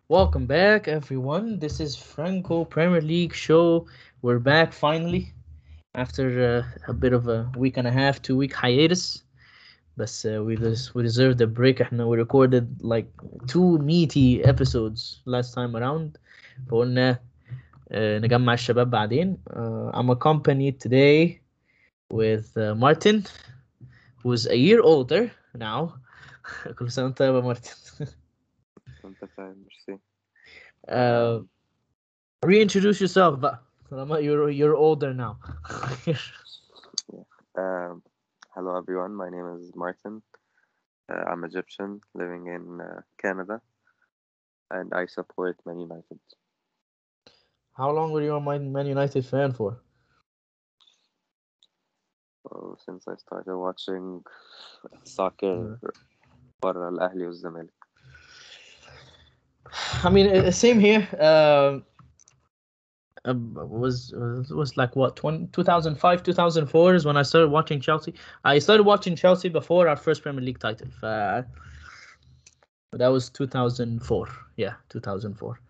Welcome back, everyone. This is Franco Premier League show. We're back finally after a bit of a week and a half, 2 week hiatus. But we deserved a break. We recorded like two meaty episodes last time around. فقلنا نجمع الشباب بعدين. I'm accompanied today with Martin, who's a year older now. كل سنة وأنت طيب يا مارتن. انت فاهم ميرسي. Uh, Reintroduce yourself بقى. You're older now. um, Hello everyone, my name is Martin. I'm Egyptian living in Canada and I support Man United. How long were you a Man United fan for? So, since I started watching soccer برا الأهلي والزمالك. I mean, same here. Was like what 2005 2004 is when I started watching Chelsea. I started watching Chelsea before our first Premier League title. That was 2004. Yeah, 2004.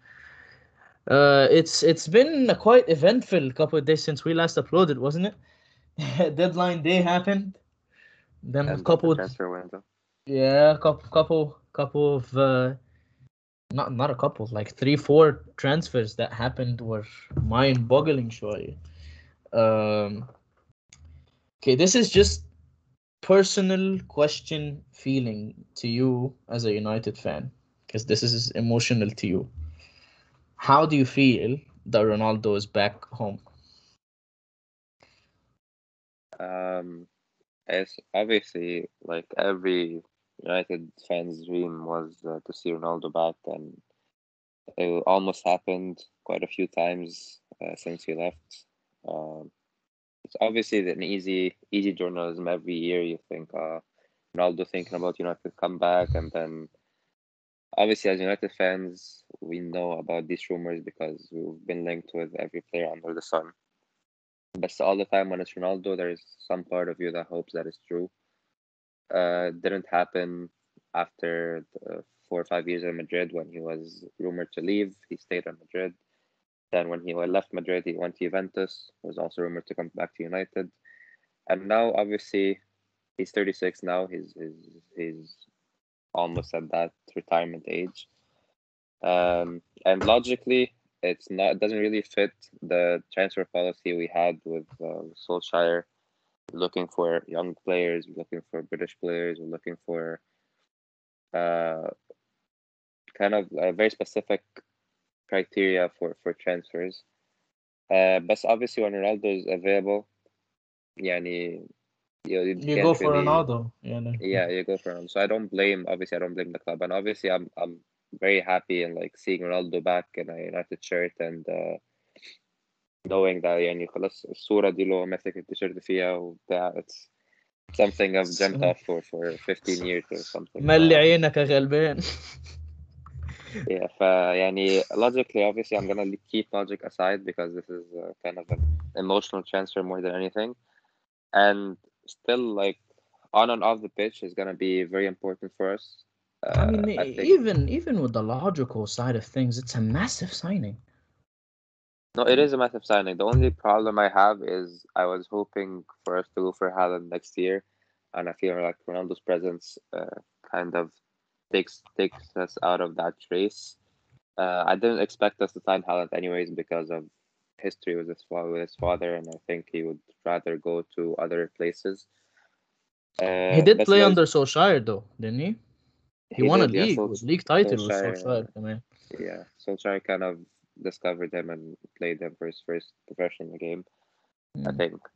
It's been a quite eventful couple of days since we last uploaded, wasn't it? Deadline day happened. Then a End of the couple, transfer window. yeah, couple of not a couple, like 3 4 transfers that happened were mind-boggling. Showy. Um, okay, this is just personal question feeling to you as a United fan, because this is emotional to you. How do you feel that Ronaldo is back home? It's obviously like every United fan's dream was to see Ronaldo back, and it almost happened quite a few times since he left. Um, it's obviously an easy journalism. Every year you think, Ronaldo thinking about United come back, and then obviously as United fans, we know about these rumors because we've been linked with every player under the sun. But all the time when it's Ronaldo, there is some part of you that hopes that it's true. Didn't happen after the 4 or 5 years in Madrid when he was rumored to leave. He stayed in Madrid. Then when he left Madrid, he went to Juventus. Was also rumored to come back to United. And now, obviously, he's 36 now. He's almost at that retirement age. And logically, it doesn't really fit the transfer policy we had with Solskjaer. Looking for young players, looking for British players, we're looking for uh, kind of a very specific criteria for transfers. But obviously, when Ronaldo is available, يعني, you You go can't for really, Ronaldo, yeah. yeah, you go for him. So obviously, I don't blame the club, and obviously, I'm very happy and like seeing Ronaldo back in a United shirt and knowing that يعني خلاص الصورة دي اللي هو ماسك التيشيرت فيها وبتاع. It's something I've dreamt of for 15 years or something. ملي عينك يا غلبان. Yeah, يعني logically, obviously, I'm gonna keep logic aside because this is kind of an emotional transfer more than anything, and still like on and off the pitch is gonna be very important for us. I mean, I think even with the logical side of things, it's a massive signing. no, it is a massive signing. The only problem I have is I was hoping for us to go for Haaland next year, and I feel like Ronaldo's presence kind of takes us out of that race. I didn't expect us to sign Haaland anyways because of history with his father, and I think he would rather go to other places. He did But play there's under Solskjaer though, didn't he? He he won a did, yeah. league with league title with Solskjaer, Solskjaer, man. yeah. Solskjaer kind of discovered him and played him for his first professional game, I Mm. think.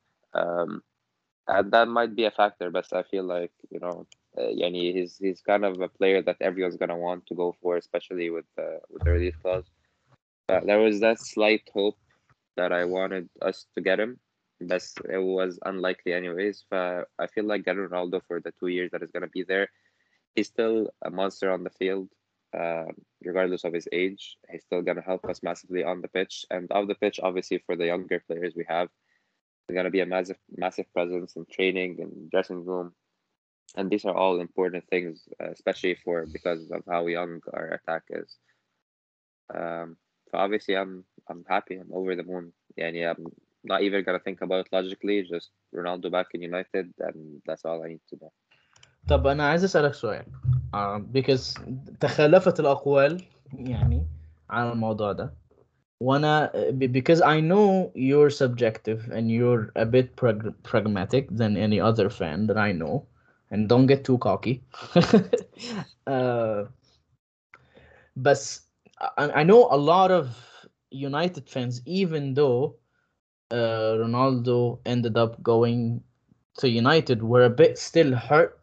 And that might be a factor, but I feel like yani he's kind of a player that everyone's gonna want to go for, especially with the release clause. There was that slight hope that I wanted us to get him, but it was unlikely anyways. I feel like getting Ronaldo for the 2 years that is gonna be there, he's still a monster on the field. Regardless of his age, he's still gonna help us massively on the pitch and off the pitch. Obviously, for the younger players we have, he's gonna be a massive presence in training and dressing room, and these are all important things, especially for because of how young our attack is. So obviously I'm happy. I'm over the moon. يعني I'm not even gonna think about it logically. Just Ronaldo back in United, and that's all I need to know. طب انا عايز اسالك سؤال because تخلفت الاقوال يعني على الموضوع ده وانا because I know you're subjective and you're a bit pragmatic than any other fan that I know, and don't get too cocky. uh, but I know a lot of United fans, even though Ronaldo ended up going to United, were a bit still hurt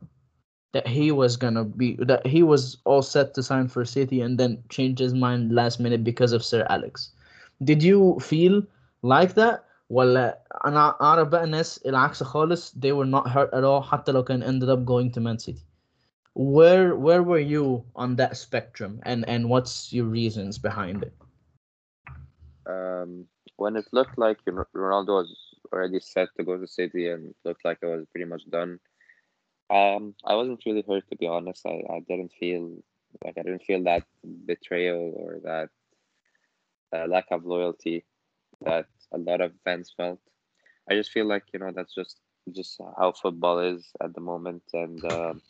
that he was all set to sign for City and then changed his mind last minute because of Sir Alex. Did you feel like that? ولا انا اعرف بقى ناس العكس خالص, they were not hurt at all حتى لو كان ended up going to Man City. Where were you on that spectrum, and what's your reasons behind it? Um, when it looked like Ronaldo was already set to go to City and looked like it was pretty much done, I wasn't really hurt, to be honest. I didn't feel like I didn't feel that betrayal or that lack of loyalty that a lot of fans felt. I just feel like that's just how football is at the moment, and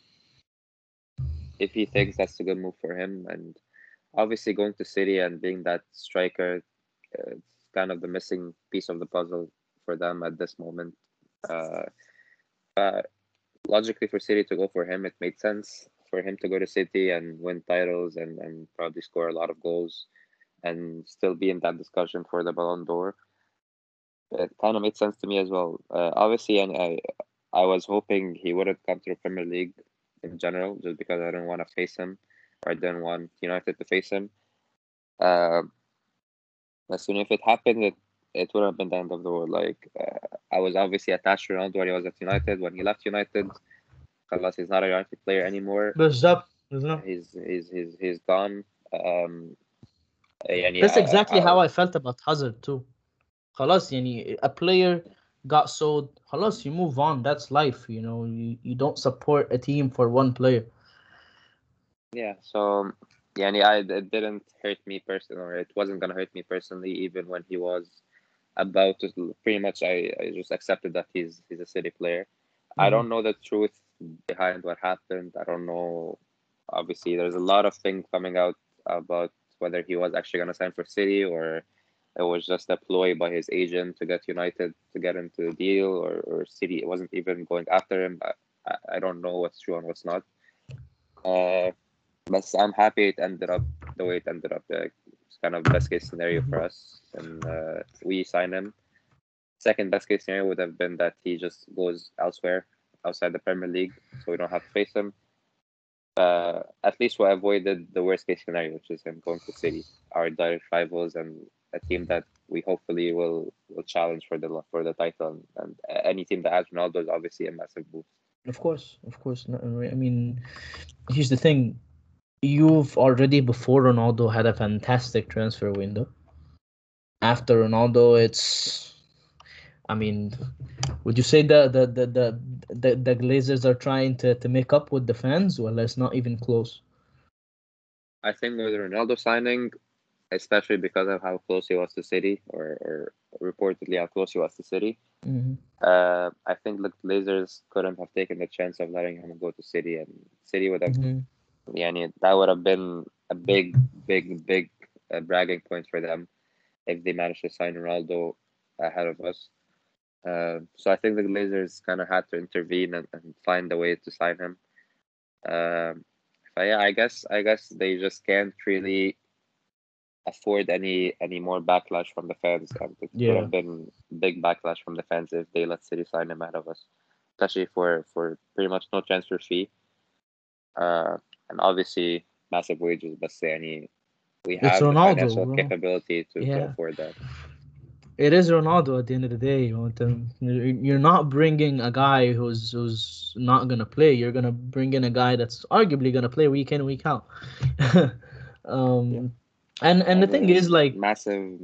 if he thinks that's a good move for him, and obviously going to City and being that striker, it's kind of the missing piece of the puzzle for them at this moment. Uh, uh, Logically, for City to go for him, it made sense for him to go to City and win titles and probably score a lot of goals and still be in that discussion for the Ballon d'Or. It kind of made sense to me as well. Obviously, and I was hoping he wouldn't come to the Premier League in general, just because I didn't want to face him, or I didn't want United to face him. Uh, as soon as it happened, it would have been the end of the world. Like I was obviously attached to Ronaldo when he was at United. When he left United, خلاص he's not a United player anymore. بالظبط. He's gone. يعني That's exactly how I felt about Hazard too. خلاص يعني a player got sold, خلاص you move on, that's life, you don't support a team for one player. yeah. So يعني it didn't hurt me personally, or it wasn't gonna hurt me personally, even when he was about to. Pretty much, I just accepted that he's a City player. I don't know the truth behind what happened. I don't know. Obviously, there's a lot of things coming out about whether he was actually gonna sign for City or it was just a ploy by his agent to get United to get into the deal, or City wasn't even going after him. I don't know what's true and what's not. But I'm happy it ended up the way it ended up. It's kind of best case scenario for us, and we sign him. Second best case scenario would have been that he just goes elsewhere outside the Premier League, so we don't have to face him. At least we avoided the worst case scenario, which is him going to City, our direct rivals, and a team that we hopefully will challenge for the title. And any team that has Ronaldo is obviously a massive boost. Of course. No, I mean, here's the thing. You've already, before Ronaldo, had a fantastic transfer window. After Ronaldo, I mean, would you say the Glazers are trying to make up with the fans? Well, it's not even close. I think with the Ronaldo signing, especially because of how close he was to City, or reportedly how close he was to City, I think the Glazers couldn't have taken the chance of letting him go to City, and City would have, يعني, that would have been a big bragging point for them if they managed to sign Ronaldo ahead of us. So I think the Glazers kind of had to intervene and find a way to sign him. But yeah, I guess they just can't really afford any more backlash from the fans. And it would have been big backlash from the fans if they let City sign him ahead of us, especially for pretty much no transfer fee. And obviously massive wages, but يعني we It's have the Ronaldo, financial bro. capability to afford that. It is Ronaldo at the end of the day. You're not bringing a guy who's not gonna play. You're gonna bring in a guy that's arguably gonna play week in, week out. And the thing is, like, massive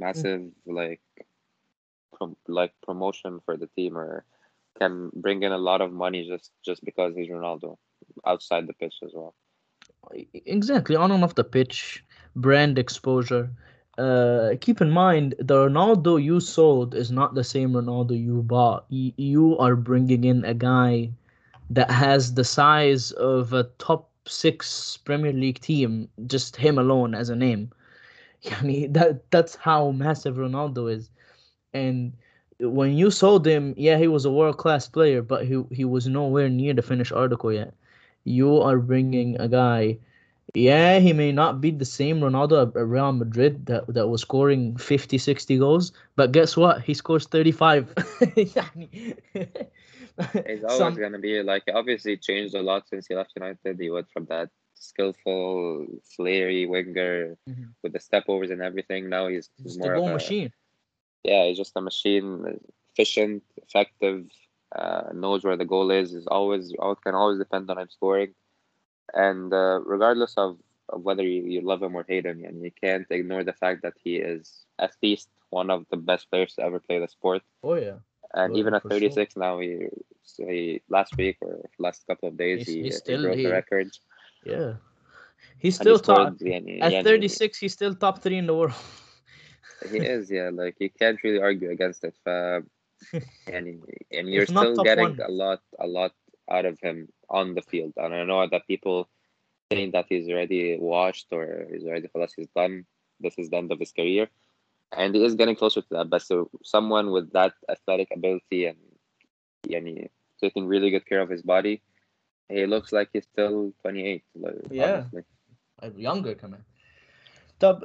like promotion for the team, or can bring in a lot of money just because he's Ronaldo outside the pitch as well. Exactly, on and off the pitch. brand exposure. Keep in mind, the Ronaldo you sold is not the same Ronaldo you bought. You are bringing in a guy that has the size of a top six Premier League team, just him alone as a name. Yani that's how massive Ronaldo is. And when you sold him, yeah, he was a world class player, but he was nowhere near the finished article yet. You are bringing a guy. Yeah, he may not be the same Ronaldo at Real Madrid that was scoring 50, 60 goals, but guess what? He scores 35. يعني He's always Some gonna be like, obviously changed a lot since he left United. He went from that skillful, flary winger Mhm. with the step overs and everything. Now he's Just a more of goal a, machine. yeah, he's just a machine, efficient, effective, knows where the goal is always, can always depend on him scoring. And regardless of whether you love him or hate him, and you can't ignore the fact that he is at least one of the best players to ever play the sport. Oh yeah. And Oh even yeah, at for sure. 36 now, he last week or last couple of days, He's he still broke the he record yeah. He's and he still top scored. Yani, at yani, 36. He's still top three in the world. he is, yeah, like you can't really argue against it. And you're If not still top getting one. a lot out of him on the field. And I know that people saying that he's already washed or he's already خلاص he's done. This is the end of his career, and he is getting closer to that. But so someone with that athletic ability and taking really good care of his body, he looks like he's still 28. Like, Yeah, honestly, younger coming. Tab,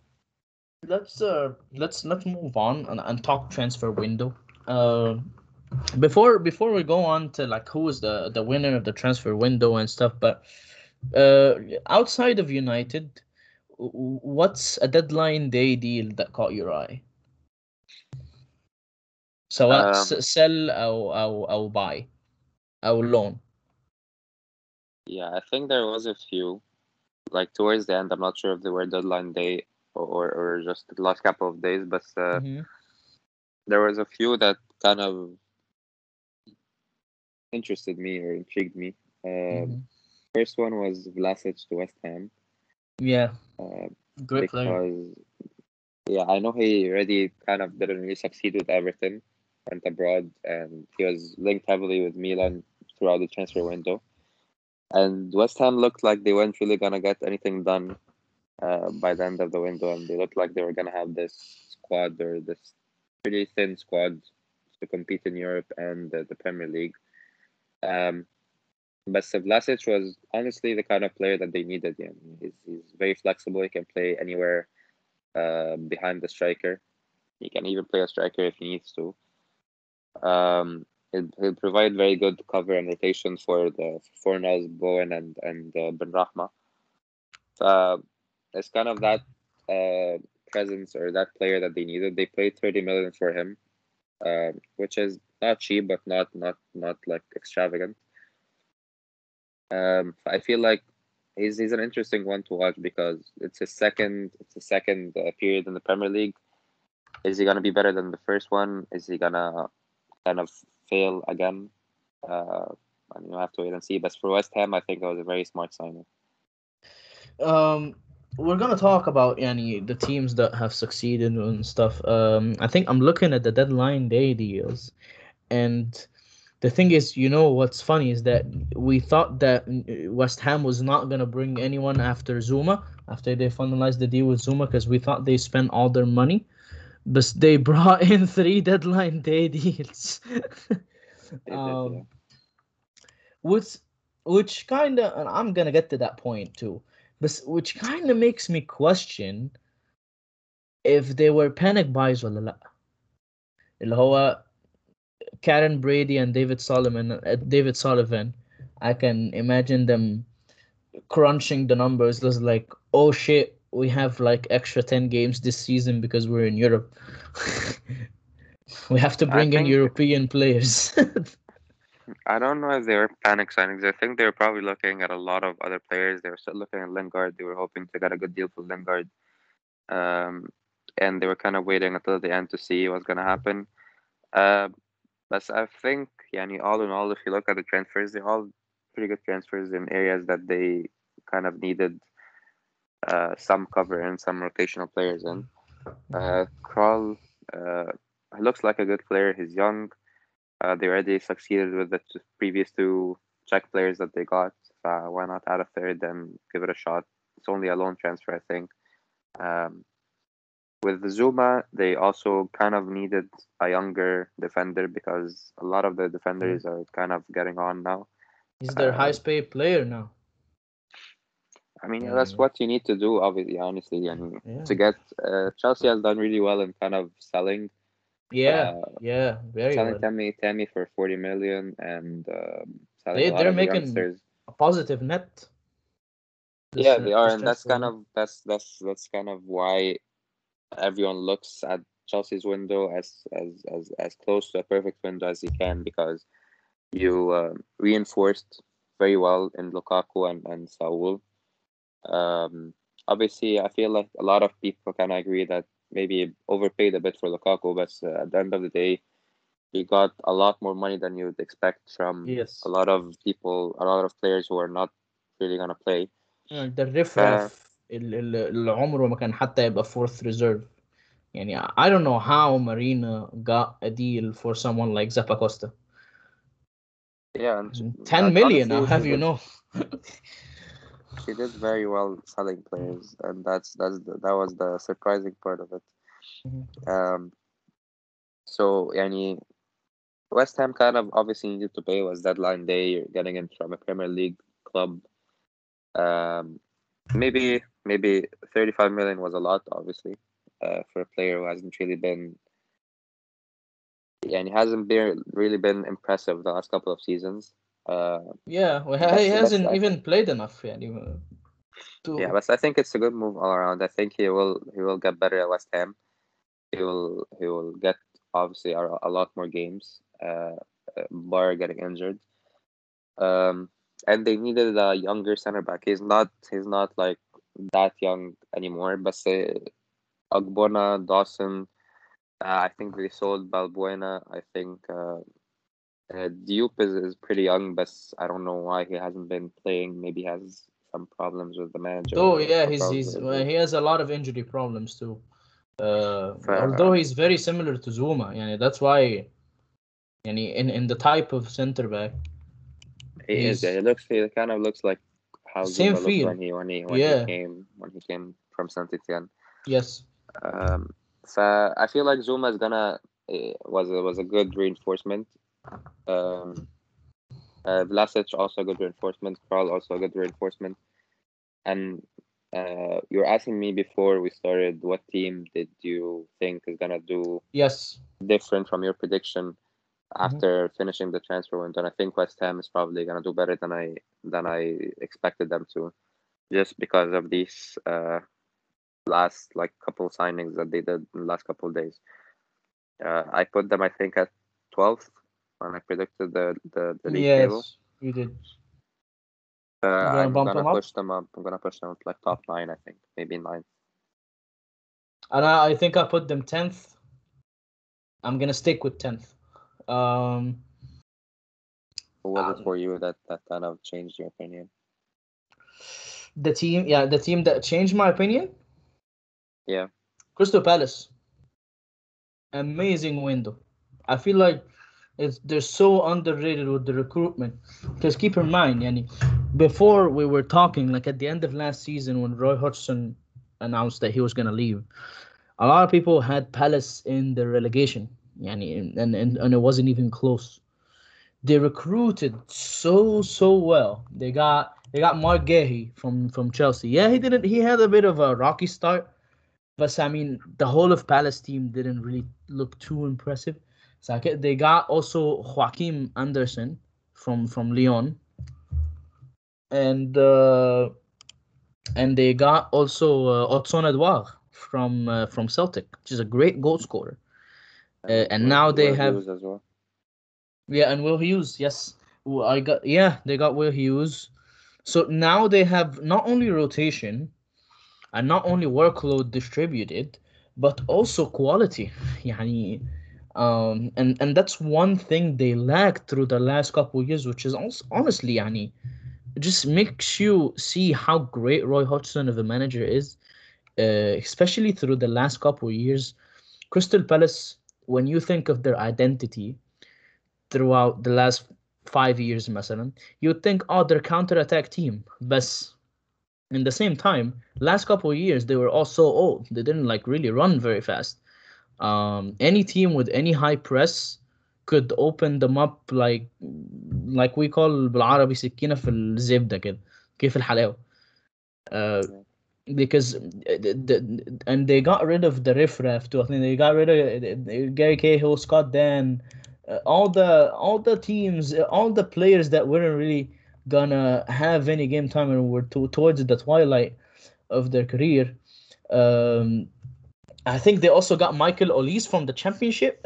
let's move on and talk transfer window. Uh, before we go on to like who is the winner of the transfer window and stuff, but uh, outside of United, what's a deadline day deal that caught your eye? سواء um, sell أو buy أو loan. yeah, I think there was a few like towards the end. I'm not sure if they were deadline day or just the last couple of days, but Mm-hmm. there was a few that kind of interested me or intrigued me. Mm-hmm. First one was Vlasic to West Ham, Yeah, uh, great player. because yeah, I know he already kind of didn't really succeed with Everton, went abroad, and he was linked heavily with Milan throughout the transfer window. And West Ham looked like they weren't really gonna get anything done by the end of the window, and they looked like they were gonna have this squad or this pretty thin squad to compete in Europe and the Premier League. Um, but Vlasic was honestly the kind of player that they needed. Yeah, he's very flexible. He can play anywhere behind the striker. He can even play a striker if he needs to. He'll provide very good cover and rotation for the Fornals, Bowen, and Ben Rahma. Uh, it's kind of that uh, presence or that player that they needed. They paid 30 million for him, which is not cheap, but not like extravagant. I feel like he's an interesting one to watch because it's a second period in the Premier League. Is he gonna be better than the first one? Is he gonna kind of fail again? Uh, and you have to wait and see. But for West Ham, I think that was a very smart signing. Um, we're gonna talk about yani the teams that have succeeded and stuff. I think I'm looking at the deadline day deals, and the thing is, what's funny is that we thought that West Ham was not gonna bring anyone after Zuma, after they finalized the deal with Zuma, because we thought they spent all their money, but they brought in three deadline day deals. They did, yeah. um, which which kind of, and I'm gonna get to that point too, but which kind of makes me question if they were panic buys ولا لا. اللي هو Karen Brady and David Sullivan. I can imagine them crunching the numbers. Just like, oh shit, we have like extra 10 games this season because we're in Europe. We have to I bring in think European players. I don't know if they were panic signings. I think they were probably looking at a lot of other players. They were still looking at Lingard. They were hoping to get a good deal for Lingard. Um, and they were kind of waiting until the end to see what's gonna happen. Uh, but I think, yani, all in all, if you look at the transfers, they're all pretty good transfers in areas that they kind of needed. some cover and some rotational players in. Kral looks like a good player. He's young. They already succeeded with the previous two Czech players that they got. Why not add a third and give it a shot? It's only a loan transfer, I think. With Zuma, they also kind of needed a younger defender because a lot of the defenders are kind of getting on now. He's their highest paid player now. I mean, yeah, that's what you need to do, obviously, honestly. And to get Chelsea has done really well in kind of selling. Very selling well. Tammy for 40 million and selling a lot They're of the making youngsters. a positive net. Yeah, they are, and that's kind of that's kind of why everyone looks at Chelsea's window as close to a perfect window as you can, because you reinforced very well in Lukaku and Saul. Obviously, I feel like a lot of people kind of agree that maybe overpaid a bit for Lukaku, but at the end of the day, he got a lot more money than you'd expect from a lot of people, a lot of players who are not really gonna play. ده الرفرف اللي عمره ما كان حتى يبقى fourth reserve. يعني I don't know how Marina got a deal for someone like Zappacosta. Yeah, and 10 million, honestly, I'll have you know. She did very well selling players, and that was the surprising part of it. So, yani, West Ham kind of obviously needed to pay. It was deadline day. You're getting in from a Premier League club. Maybe 35 million was a lot, obviously, for a player who hasn't really been, and he hasn't really been impressive the last couple of seasons. Yeah, well, he hasn't even played enough. Yeah, but I think it's a good move all around. I think he will get better at West Ham. He will get obviously a lot more games, bar getting injured. And they needed a younger center back. He's not like that young anymore. But Ogbonna, Dawson, I think they sold Balbuena. I think Diop is pretty young, but I don't know why he hasn't been playing. Maybe he has some problems with the manager. Oh yeah, he has a lot of injury problems too. Although he's very similar to Zuma, that's why. In the type of center back. He is. Yeah, he kind of looks like how Zuma looked when he came from Saint Etienne. Yes. So I feel like Zuma is gonna was a good reinforcement. Vlasic also a good reinforcement. Kral also a good reinforcement. And you were asking me before we started, what team did you think is gonna do different from your prediction after finishing the transfer window? And I think West Ham is probably gonna do better than I expected them to, just because of these last couple signings that they did in the last couple of days. I put them, I think, at 12th when I predicted the league table. Yes, you did. I'm gonna push them up. I'm gonna push them to top 9. I think maybe 9th. And I think I put them 10th. I'm gonna stick with 10th. What was it for you that kind of changed your opinion? The team that changed my opinion? Yeah. Crystal Palace. Amazing window. I feel like they're so underrated with the recruitment. Because keep in mind, before we were talking, like at the end of last season when Roy Hodgson announced that he was gonna leave, a lot of people had Palace in the relegation. And it wasn't even close. They recruited so well. They got Mark Guéhi from Chelsea. Yeah, he had a bit of a rocky start, but I mean the whole of Palace team didn't really look too impressive. So they got also Joachim Andersen from Lyon, and they got also Otson Edouard from Celtic, which is a great goal scorer. And now they have Hughes as well. Yeah, and Will Hughes, yes. They got Will Hughes. So now they have not only rotation and not only workload distributed, but also quality. And that's one thing they lacked through the last couple of years, which is also, honestly, just makes you see how great Roy Hodgson of a manager is, especially through the last couple of years. Crystal Palace, when you think of their identity throughout the last 5 years, مثلا, you'd think, oh, they're counter-attack team. But in the same time, last couple of years, they were all so old. They didn't like really run very fast. Any team with any high press could open them up like we call بالعربي سكينة في الزبدة كده كيف الحلاوة. Uh, Yeah. because and they got rid of the riffraff too. I think they got rid of Gary Cahill, Scott Dan, all the teams, all the players that weren't really gonna have any game time and were towards the twilight of their career. Um, I think they also got Michael Olise from the championship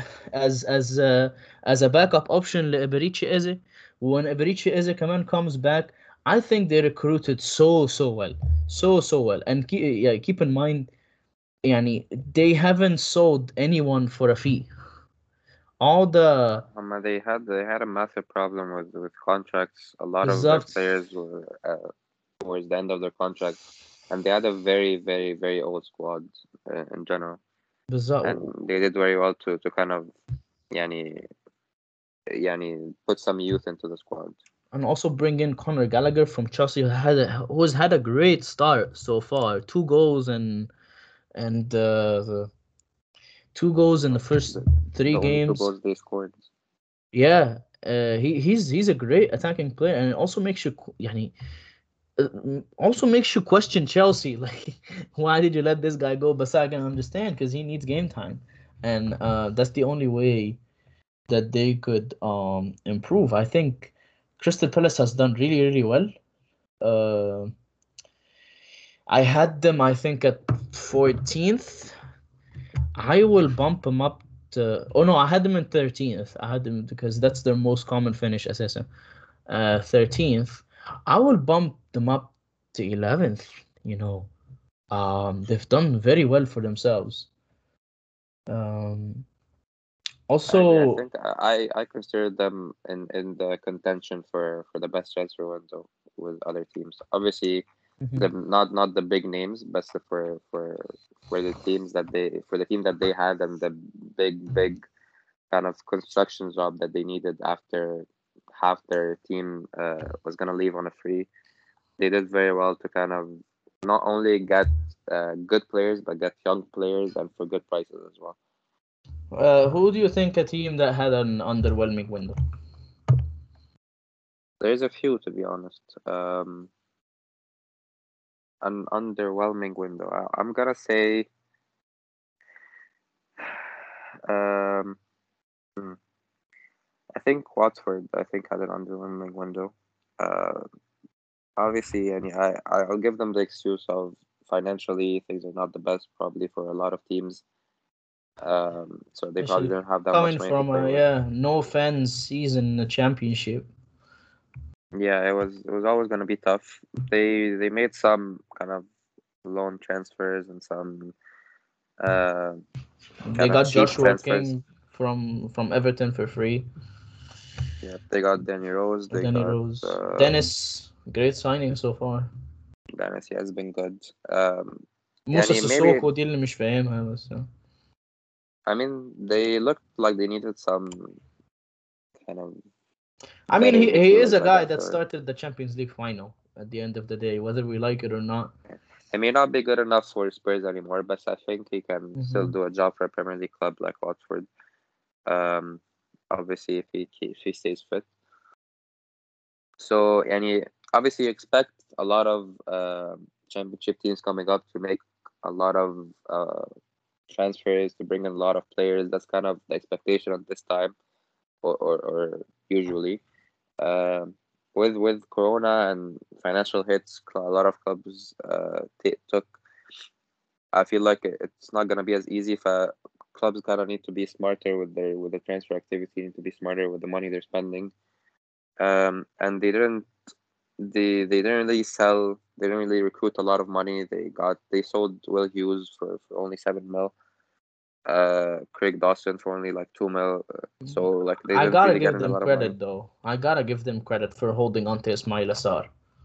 as a backup option لإبريتشي Eze. When Iberiche Eze كمان comes back, I think they recruited so well, so well. And keep in mind, يعني they haven't sold anyone for a fee. All the They had a massive problem with contracts. A lot of their بالظبط players were towards the end of their contract, and they had a very, very, very old squad in general. And بالظبط they did very well to kind of يعني put some youth into the squad. and also bring in Conor Gallagher from Chelsea, who's had a great start so far. 2 goals and the 2 goals in the first The, three the only two games. goals they scored. Yeah, he's a great attacking player, and it also makes you يعني, also makes you question Chelsea. Like, why did you let this guy go? But I can understand because he needs game time, and that's the only way that they could improve. I think Crystal Palace has done really well. Uh, I had them, I think, at 14th. I will bump them up to. Oh no, I had them in 13th. I had them because that's their most common finish, SSM. 13th. I will bump them up to 11th. They've done very well for themselves. Um, I also, think I consider them in the contention for the best transfer window with other teams. Obviously, mhm, the not the big names, but for the teams that they for the team that they had and the big kind of construction job that they needed after half their team was gonna leave on a free. They did very well to kind of not only get good players but get young players and for good prices as well. who do you think a team that had an underwhelming window? There's a few, to be honest. An underwhelming window. I'm gonna say, um, hmm, I think Watford. I think had an underwhelming window. Uh, Obviously, and I'll give them the excuse of financially things are not the best probably for a lot of teams. So they probably Especially don't have that much coming money to from play a with. no fans season in the championship. Yeah, it was always gonna be tough. They made some kind of loan transfers and some uh They kind of got cheap Joshua transfers. King from Everton for free. Yeah, they got Danny Rose. They Danny got Rose, Dennis, great signing so far. Dennis. He has been good. موسى يعني maybe سيسوكو دي اللي مش فاهمها بس. I mean they looked like they needed some kind of I mean, better he is midfielders, a I guy guess. that Or started the Champions League final at the end of the day, whether we like it or not. it may not be good enough for Spurs anymore, but I think he can still Hmm. do a job for a Premier League club like Watford. Um, Obviously if he stays fit. So any obviously you expect a lot of championship teams coming up to make a lot of transfers to bring in a lot of players. That's kind of the expectation at this time, or usually. Um, with Corona and financial hits, a lot of clubs took. I feel like it's not gonna be as easy. If clubs kind of need to be smarter with their transfer activity, need to be smarter with the money they're spending. And they didn't really sell. They didn't really recruit a lot of money. They sold Will Hughes for only 7 mil. Craig Dawson for only like 2 mil. So like they I didn't gotta really get give in a them lot of money. credit though. I gotta give them credit for holding on to Ismail Assar.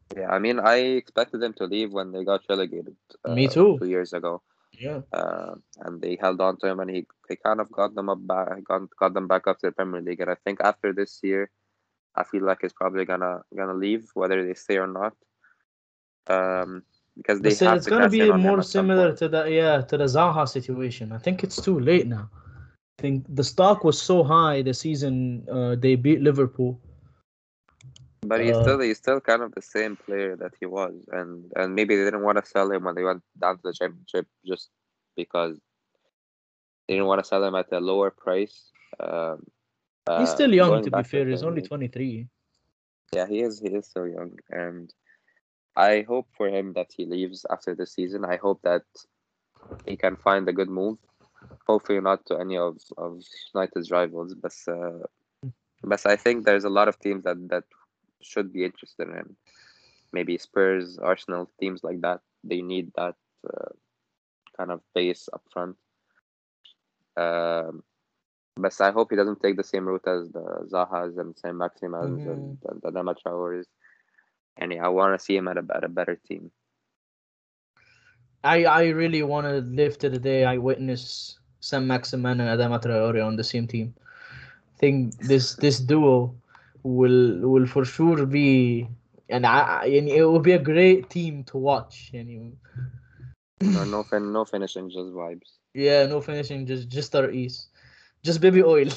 Yeah, I mean, I expected them to leave when they got relegated Me too. 2 years ago. Yeah. And they held on to him, and he kind of got them got them back up to the Premier League. And I think after this year, I feel like he's probably gonna leave, whether they stay or not. Because But they still, have it's to gonna cash in be on him more at some similar point. to the Zaha situation. I think it's too late now. I think the stock was so high the season they beat Liverpool. But Uh, he's still kind of the same player that he was, and maybe they didn't want to sell him when they went down to the Championship just because they didn't want to sell him at a lower price. Um, he's still young, Going to be back to the fair. He's Premier only League. 23. Yeah, he is so young, and I hope for him that he leaves after the season. I hope that he can find a good move. Hopefully not to any of United's rivals, but I think there's a lot of teams that should be interested in him. Maybe Spurs, Arsenal, teams like that. They need that uh, kind of base up front. Um, but I hope he doesn't take the same route as the Zahas and Saint Maximas Hmm. and the Adama Traores. And yeah, I want to see him at a better team. I really want to live to the day I witness Sam Maximan and Adama Traore on the same team. I think this duo will for sure be, and it will be a great team to watch. And No finishing, just vibes. yeah, no finishing, just our ease, just baby oil.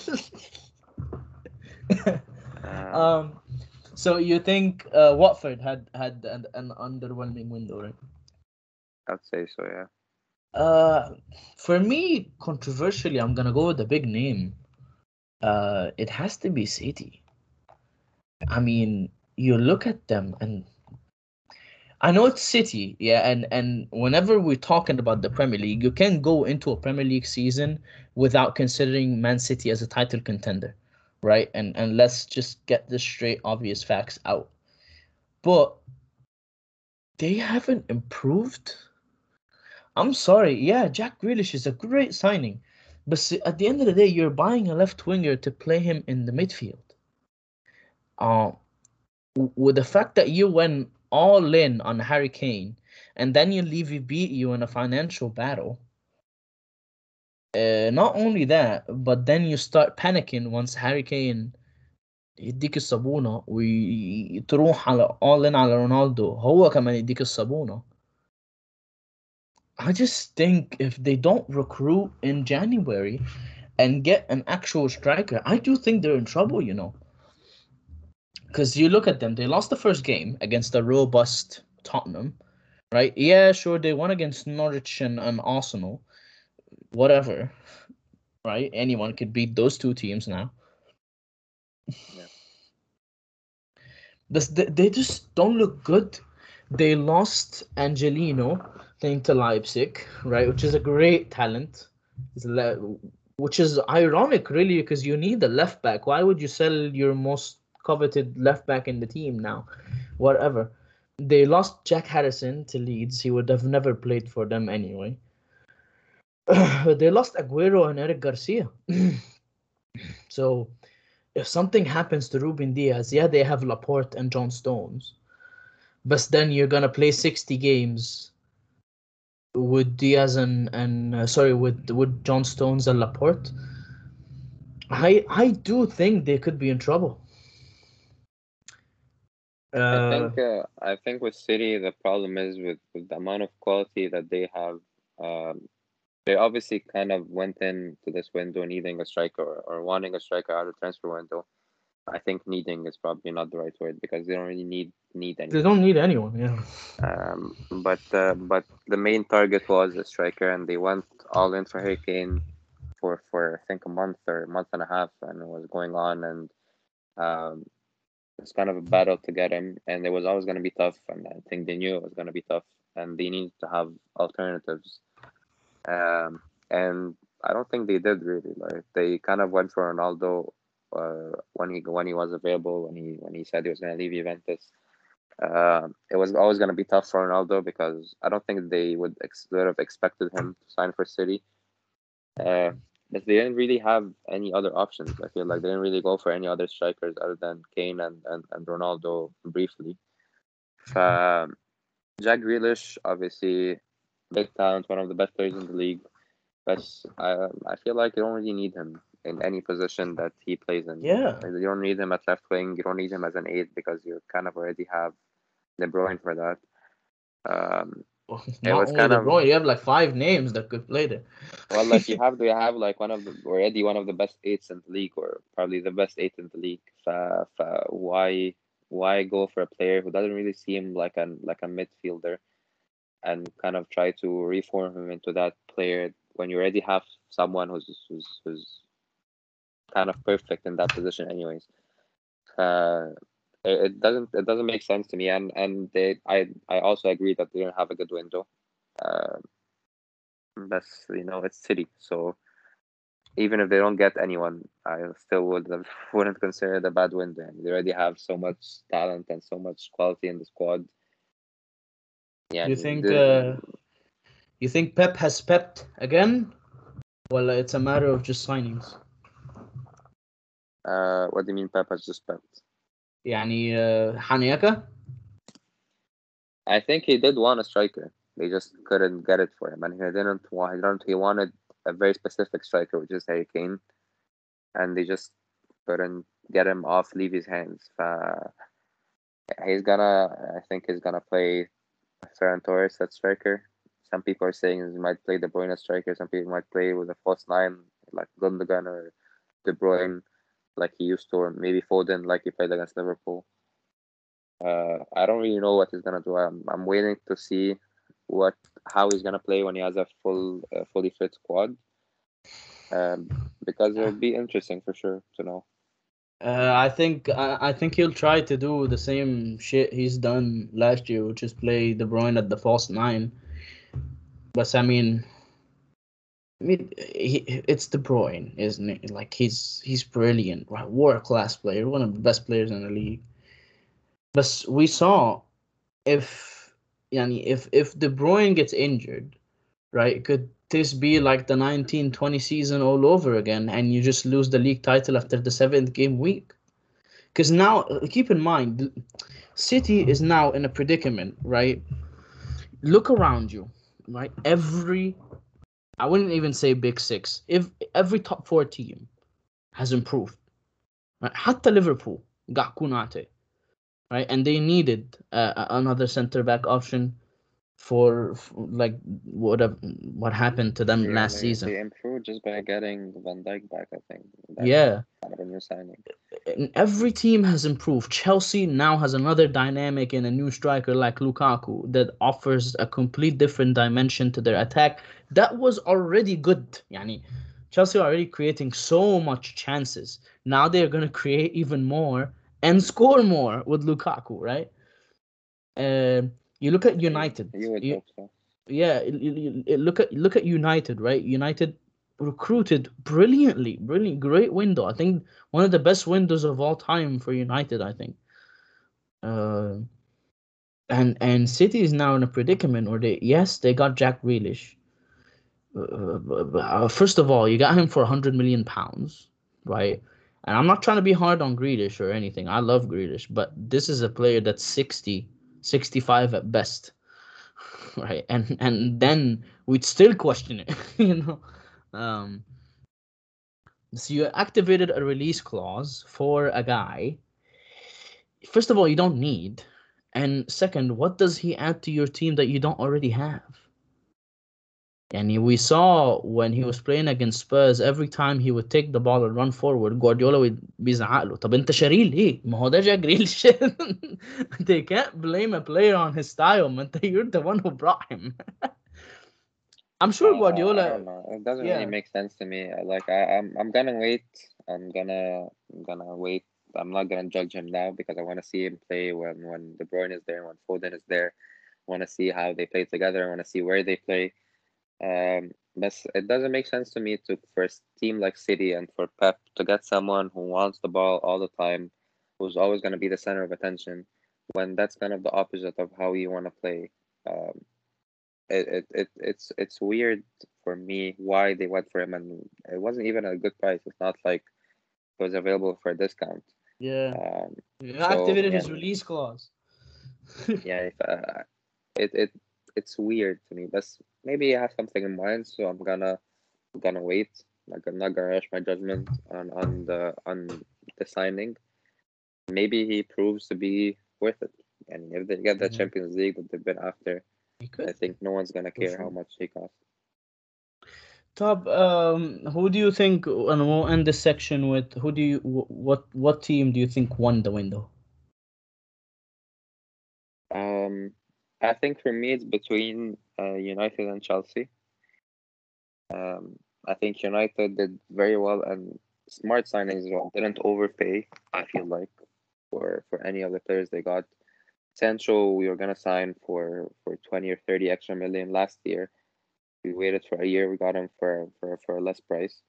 Um, um, so you think Watford had an underwhelming window, right? I'd say so, yeah. Uh, for me, controversially, I'm gonna go with the big name. It has to be City. I mean, you look at them, and I know it's City, yeah, and whenever we're talking about the Premier League, you can go into a Premier League season without considering Man City as a title contender, right? And let's just get the straight, obvious facts out. But they haven't improved. I'm sorry, yeah, Jack Grealish is a great signing, but at the end of the day, you're buying a left winger to play him in the midfield. Uh, with the fact that you went all in on Harry Kane and then you leave he beat you in a financial battle. Not only that, but then you start panicking once Harry Kane يديك الصابونة وتروح على all in على رونالدو هو كمان يديك الصابونة. I just think if they don't recruit in January and get an actual striker, I do think they're in trouble. Because you look at them, they lost the first game against a robust Tottenham, right? Yeah, sure, they won against Norwich and Arsenal, whatever, right? Anyone could beat those two teams now. Yeah. They just don't look good. They lost Angelino playing to Leipzig, right? Which is a great talent. Which is ironic, really, because you need a left back. Why would you sell your most coveted left back in the team now? Whatever. They lost Jack Harrison to Leeds. He would have never played for them anyway. They lost Aguero and Eric Garcia. So if something happens to Ruben Diaz, yeah, they have Laporte and John Stones, but then you're gonna play 60 games with Diaz and sorry, with John Stones and Laporte. I do think they could be in trouble. Uh, I think with City the problem is with the amount of quality that they have. Um, they obviously kind of went into this window needing a striker or wanting a striker out of the transfer window. I think needing is probably not the right word because they don't really need they anyone. don't need anyone. Yeah. But the main target was a striker, and they went all in for Harry Kane for I think a month or a month and a half, and it was going on, and um, it's kind of a battle to get him, and it was always going to be tough, and I think they knew it was going to be tough, and they needed to have alternatives. And I don't think they did really. Like they kind of went for Ronaldo when he was available, when he said he was going to leave Juventus. It was always going to be tough for Ronaldo because I don't think they would have expected him to sign for City. Uh, but they didn't really have any other options. I feel like they didn't really go for any other strikers other than Kane and Ronaldo briefly. Jack Grealish, obviously, big talent, one of the best players in the league. But I feel like you don't really need him in any position that he plays in. Yeah. Like, you don't need him at left wing. You don't need him as an 8 because you kind of already have De Bruyne for that. It Not was only kind De of Bruyne, you have like 5 names that could play there. well, like you have like one of the best 8s in the league, or probably the best 8 in the league. Why go for a player who doesn't really seem like a midfielder and kind of try to reform him into that player when you already have someone who's kind of perfect in that position anyways. It doesn't make sense to me, and I also agree that they don't have a good window. But it's City, so even if they don't get anyone, I still wouldn't consider it a bad window. I mean, they already have so much talent and so much quality in the squad. Yeah, You think Pep has pepped again? Well, it's a matter of just signings. what do you mean Pep has just pepped? يعني Haniaka? I think he did want a striker. They just couldn't get it for him, and he wanted a very specific striker, which is Harry Kane, and they just couldn't get him off Levy's hands. I think he's gonna play Ferran Torres at striker. Some people are saying he might play De Bruyne as striker. Some people might play with a false 9 like Gundogan or De Bruyne, like he used to, or maybe Foden, like he played against Liverpool. I don't really know what he's gonna do. I'm waiting to see how he's gonna play when he has a fully fit squad. Because it'll be interesting for sure to know. I think he'll try to do the same shit he's done last year, which is play De Bruyne at the false 9. But I mean, it's De Bruyne, isn't it? Like he's brilliant, right? World class player, one of the best players in the league. But we saw if if De Bruyne gets injured, right? Could this be like the 1920 season all over again, and you just lose the league title after the 7th game week? Because now, keep in mind, City is now in a predicament, right? Look around you, right? I wouldn't even say big 6. If every top 4 team has improved, right? حتى Liverpool got Kunate, right? And they needed another center back option for like what happened to them Yeah, last season. they improved just by getting Van Dijk back. I think that's Yeah, kind of a new signing. and every team has improved. Chelsea now has another dynamic and a new striker like Lukaku that offers a complete different dimension to their attack. That was already good. Yani, Chelsea are already creating so much chances. Now they're going to create even more and score more with Lukaku, right? You look at United. You would hope so. Yeah, look at United, right? United recruited brilliantly, brilliant, great window. I think one of the best windows of all time for United. I think, uh, and City is now in a predicament where they got Jack Grealish. First of all, you got him for 100 million pounds, right? And I'm not trying to be hard on Grealish or anything. I love Grealish, but this is a player that's 60, 65 at best, right? And then we'd still question it, you know. Um, so you activated a release clause for a guy. First of all, you don't need, and second, what does he add to your team that you don't already have? And we saw when he was playing against Spurs, every time he would take the ball and run forward, Guardiola would بيزعق له طب انت شاريه ليه؟ ما هو ده جاك جريليش. They can't blame a player on his style, man. You're the one who brought him. I'm sure I Guardiola, don't know. It doesn't really yeah, make sense to me. I'm gonna wait. I'm gonna wait. I'm not gonna judge him now because I want to see him play when De Bruyne is there, when Foden is there. I want to see how they play together. I want to see where they play. But it doesn't make sense to me for a team like City and for Pep to get someone who wants the ball all the time, who's always gonna be the center of attention, when that's kind of the opposite of how you want to play. Um, it's weird for me why they went for him, and it wasn't even a good price. It's not like it was available for a discount. yeah, Um, he so activated yeah, his release clause. yeah, if, it's weird to me, but maybe I have something in mind, so I'm gonna wait. Like I'm not gonna rush my judgment on the signing. Maybe he proves to be worth it. And if they get the Yeah, Champions League that they've been after, he I could think no one's gonna for care how sure. much he costs. Top. Who do you think? And we'll end this section with who do you? What team do you think won the window? Um, I think for me it's between United and Chelsea. Um, I think United did very well and smart signings as well. Didn't overpay, I feel like, for any of the players they got. Sancho, we were gonna sign for 20 or 30 extra million last year. We waited for a year, we got him for a less price.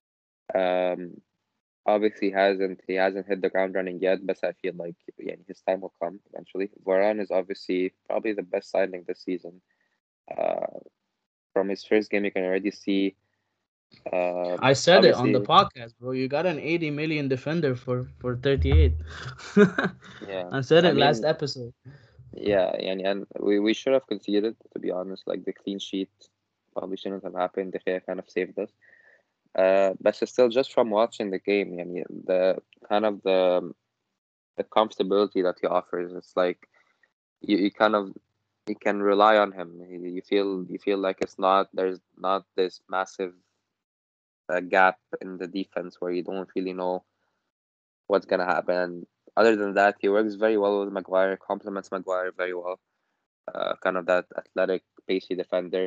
Um, obviously he hasn't hit the ground running yet, but I feel like yeah, his time will come eventually. Varane is obviously probably the best signing this season. Uh, from his first game, you can already see. I said it on the Obviously, podcast, bro. You got an 80 million defender for 38. yeah. I said I it last mean, episode. yeah, and we should have conceded, to be honest. Like the clean sheet probably shouldn't have happened. De Gea kind of saved us. But still, just from watching the game, yeah, the kind of the comfortability that he offers, it's like you kind of you can rely on him. You feel like there's not this massive gap in the defense where you don't really know what's gonna happen. And other than that, he works very well with Maguire, complements Maguire very well. Kind of that athletic, pacey defender.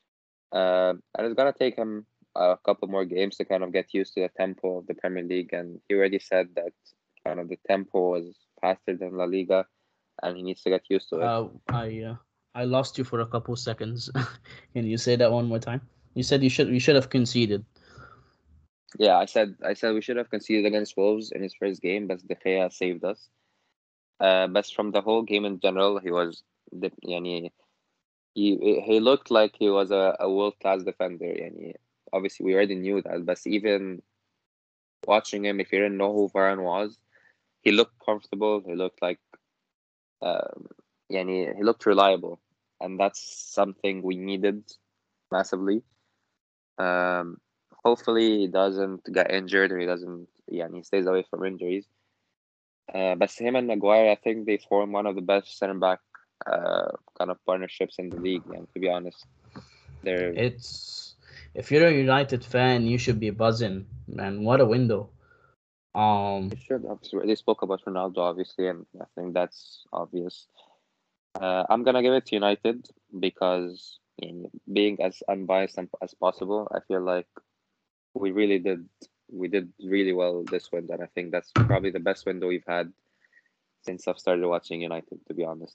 And it's gonna take him a couple more games to kind of get used to the tempo of the Premier League. And he already said that kind of the tempo was faster than La Liga, and he needs to get used to it. I lost you for a couple seconds. Can you say that one more time? You said you should have conceded. Yeah, I said we should have conceded against Wolves in his first game, but De Gea saved us. But from the whole game in general, يعني, he looked like he was a world class defender. يعني, obviously, we already knew that, but even watching him, if you didn't know who Varane was, he looked comfortable. He looked like um, he looked reliable, and that's something we needed massively. Um, hopefully he doesn't get injured or he doesn't, he stays away from injuries. But him and Maguire, I think they form one of the best center back kind of partnerships in the league. And to be honest, they're It's if you're a United fan, you should be buzzing, man. What a window. they Um, should obviously they spoke about Ronaldo obviously, and I think that's obvious. I'm gonna give it to United because being as unbiased as possible, I feel like we really did we did really well this window, and I think that's probably the best window we've had since I've started watching United, to be honest.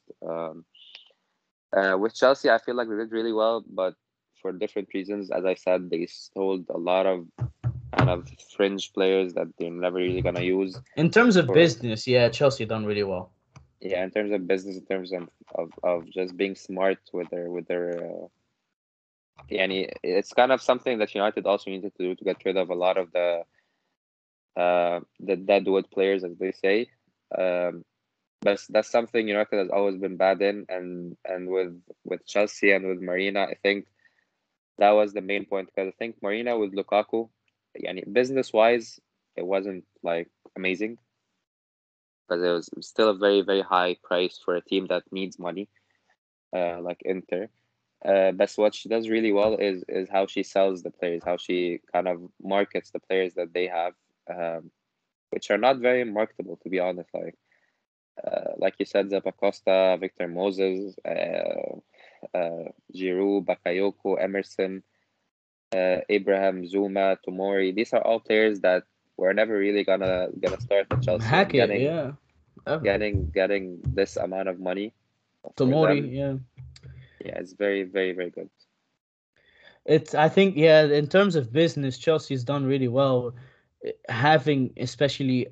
With Chelsea, I feel like we did really well, but for different reasons. As I said, they sold a lot of kind of fringe players that they're never really gonna use. in terms of For business, yeah, Chelsea done really well. yeah, in terms of business, in terms of just being smart with their it's kind of something that United also needed to do to get rid of a lot of the deadwood players, as they say. Um, but that's something United has always been bad in, and with Chelsea and with Marina, I think that was the main point because I think Marina with Lukaku, business wise, it wasn't like amazing because it was still a very very high price for a team that needs money, like Inter. But what she does really well is how she sells the players, how she kind of markets the players that they have, um, which are not very marketable to be honest. Like you said, Zappacosta, Victor Moses, Giroud, Bakayoko, Emerson, Abraham, Zuma, Tomori. These are all players that were never really gonna start at Chelsea, and Hackett, getting yeah. Ever. getting getting this amount of money for Tomori, them, yeah. yeah, it's very very very good. It's I think yeah, in terms of business, Chelsea's done really well, having especially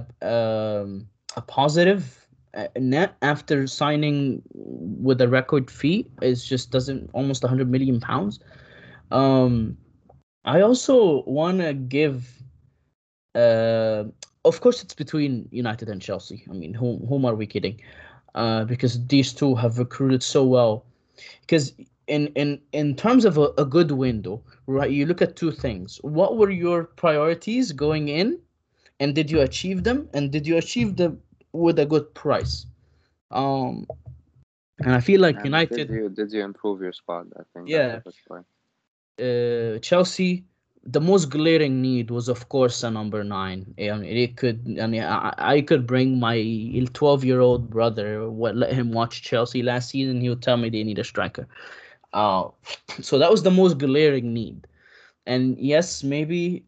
a positive net after signing with a record fee is just doesn't almost 100 million pounds. Um, I also want to give uh, of course it's between United and Chelsea. I mean, whom are we kidding? because these two have recruited so well. Because in terms of a good window, right? You look at two things. What were your priorities going in, and did you achieve them? And did you achieve them with a good price? Um, and I feel like And United, did you improve your squad? I think that's a yeah, good point. Chelsea, the most glaring need was, of course, a number nine. I mean, it could. I mean, I could bring my 12-year-old brother. Let him watch Chelsea last season. He would tell me they need a striker. Uh, so that was the most glaring need. And yes, maybe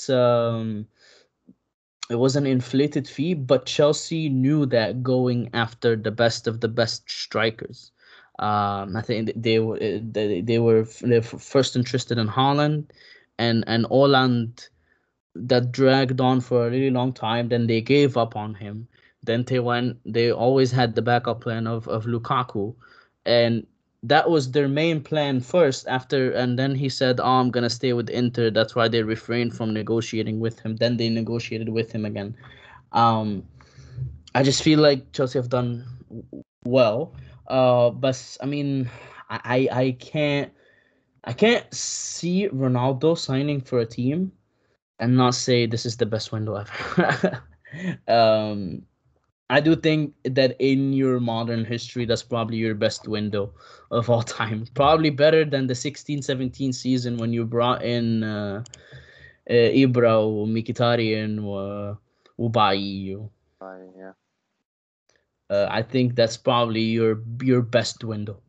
it was an inflated fee, but Chelsea knew that going after the best of the best strikers. I think they were first interested in Haaland, and Haaland that dragged on for a really long time. Then they gave up on him. Then they always had the backup plan of Lukaku, and that was their main plan first. And then he said, "Oh, I'm gonna stay with Inter." That's why they refrained from negotiating with him. Then they negotiated with him again. Um, I just feel like Chelsea have done well. But I mean, I can't see Ronaldo signing for a team and not say this is the best window ever. um, I do think that in your modern history, that's probably your best window of all time. Probably better than the 16-17 season when you brought in Ibra, Mkhitaryan, Ubai. Yeah. I think that's probably your best window.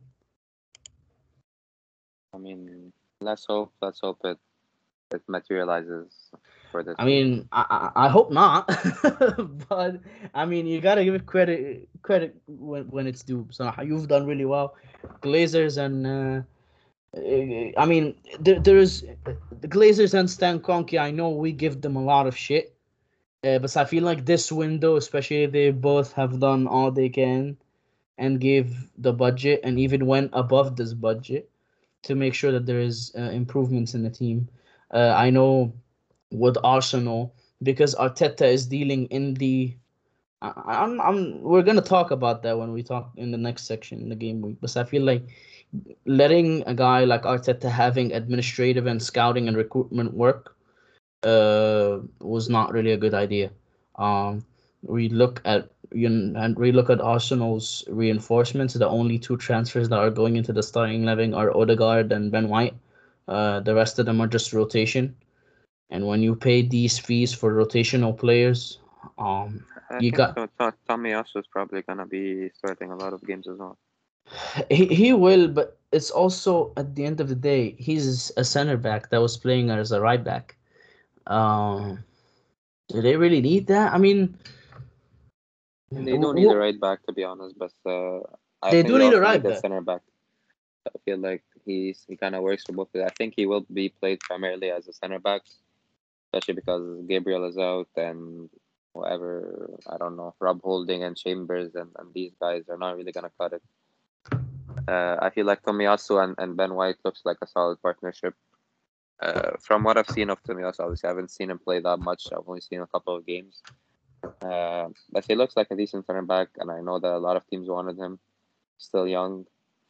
I mean, let's hope it materializes for this I season. mean, I hope not, but I mean, you gotta give it credit when it's due. So you've done really well, Glazers and I mean, there's the Glazers and Stan Kroenke. I know we give them a lot of shit, but I feel like this window, especially, they both have done all they can and gave the budget and even went above this budget to make sure that there is improvements in the team. I know with Arsenal because Arteta is dealing in the. We're gonna talk about that when we talk in the next section in the game week. But I feel like letting a guy like Arteta having administrative and scouting and recruitment work was not really a good idea. Um, we look at and we look at Arsenal's reinforcements. The only two transfers that are going into the starting 11 are Odegaard and Ben White. The rest of them are just rotation. And when you pay these fees for rotational players, I you think got Tommy also is probably gonna be starting a lot of games as well. he will, but it's also at the end of the day, he's a center back that was playing as a right back. Um, do they really need that? I mean, And they don't need a right back to be honest, but I they think do they need a also right need a back. center back. I feel like he kind of works for both. I think he will be played primarily as a center back, especially because Gabriel is out and whoever, I don't know, Rob Holding and Chambers and these guys are not really gonna cut it. I feel like Tomiyasu and Ben White looks like a solid partnership. From what I've seen of Tomiyasu, obviously I haven't seen him play that much. I've only seen a couple of games. But he looks like a decent center back, and I know that a lot of teams wanted him. Still young,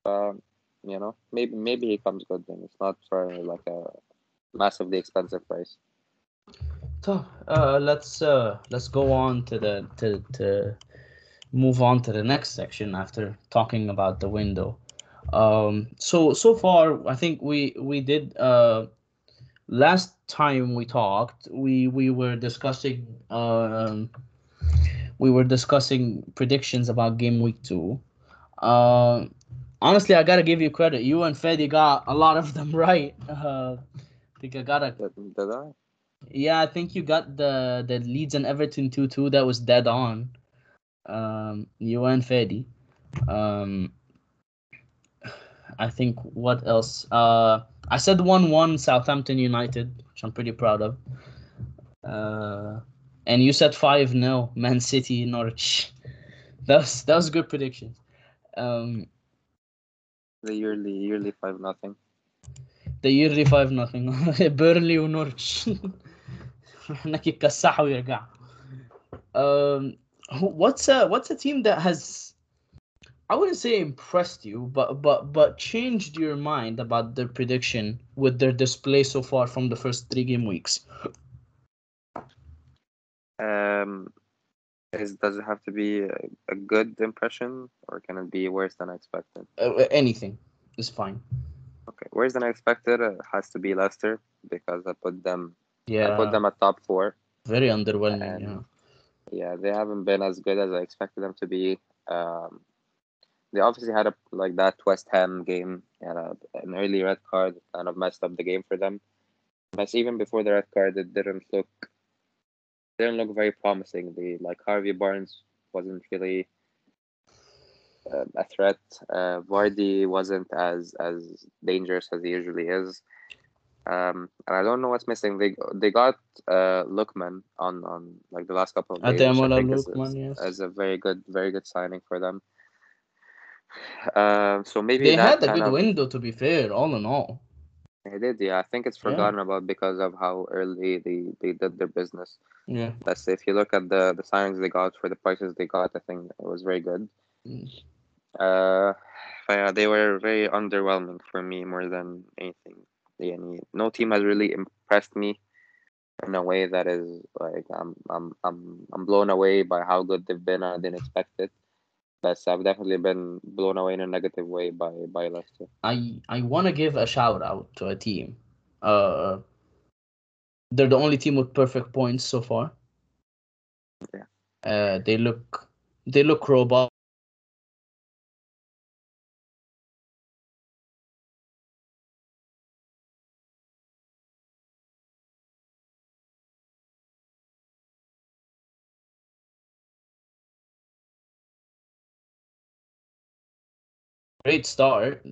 maybe he comes good. Then it's not for like a massively expensive price. So let's go on to move on to the next section after talking about the window. So far I think we did last time we talked we were discussing predictions about game week 2. Uh, Honestly, I gotta give you credit. You and Fedi got a lot of them right. I think I got a Did I? Yeah, I think you got the Leeds and Everton 2-2. That was dead on. You and Fedi. Um, I think what else? I said 1-1 Southampton United, which I'm pretty proud of. Uh, and you said 5-0 Man City Norwich. That was good predictions. Um, The yearly 5-0. the yearly 5-0 Burnley ونورتش. هناك يكسحوا ويرجعوا. What's a team that has I wouldn't say impressed you, but changed your mind about their prediction with their display so far from the first 3 game weeks? Um, does it have to be a good impression, or can it be worse than I expected? Anything is fine. Okay, worse than I expected. It has to be Leicester because I put them Yeah, at top 4, very underwhelming. Yeah. and yeah, they haven't been as good as I expected them to be. They obviously had like that West Ham game, and an early red card kind of messed up the game for them. But even before the red card, it didn't look very promising. Like Harvey Barnes wasn't really a threat. Vardy wasn't as dangerous as he usually is. And I don't know what's missing. They got Lookman on like the last couple of days, which I Ademola think Lookman, yes. is a very good signing for them. So maybe They that had a kind good of window, to be fair, all in all. they did, yeah. I think it's Yeah, forgotten about because of how early they did their business. yeah. But if you look at the signings they got for the prices they got, I think it was very good. Mm. But yeah, they were very underwhelming for me more than anything. No team has really impressed me in a way that is like I'm blown away by how good they've been. I didn't expect it. But I've definitely been blown away in a negative way by Leicester. I want to give a shout out to a team. Uh, they're the only team with perfect points so far. Yeah. They look robust. Great start.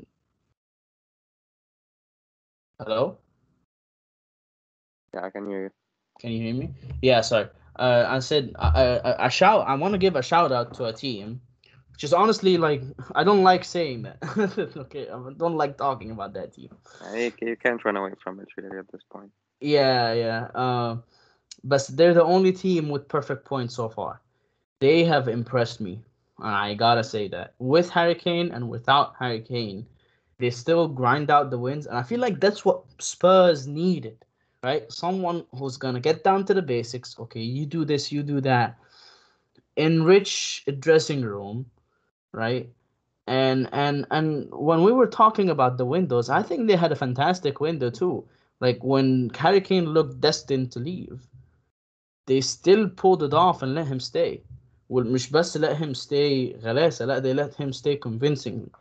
Hello, Yeah, I can hear you. can you hear me? Yeah, sorry. I said I want to give a shout out to a team, which is honestly like I don't like saying that. Okay, I don't like talking about that team. You can't run away from it really at this point. Yeah, yeah. But they're the only team with perfect points so far. They have impressed me. I gotta say that. With Hurricane and without Hurricane, they still grind out the wins, and I feel like that's what Spurs needed, right? Someone who's gonna get down to the basics. Okay, you do this, you do that. Enrich a dressing room, right? And when we were talking about the windows, I think they had a fantastic window too. Like when Hurricane looked destined to leave, they still pulled it off and let him stay. ومش بس let him stay غلاسة, لا, they let him stay convincingly.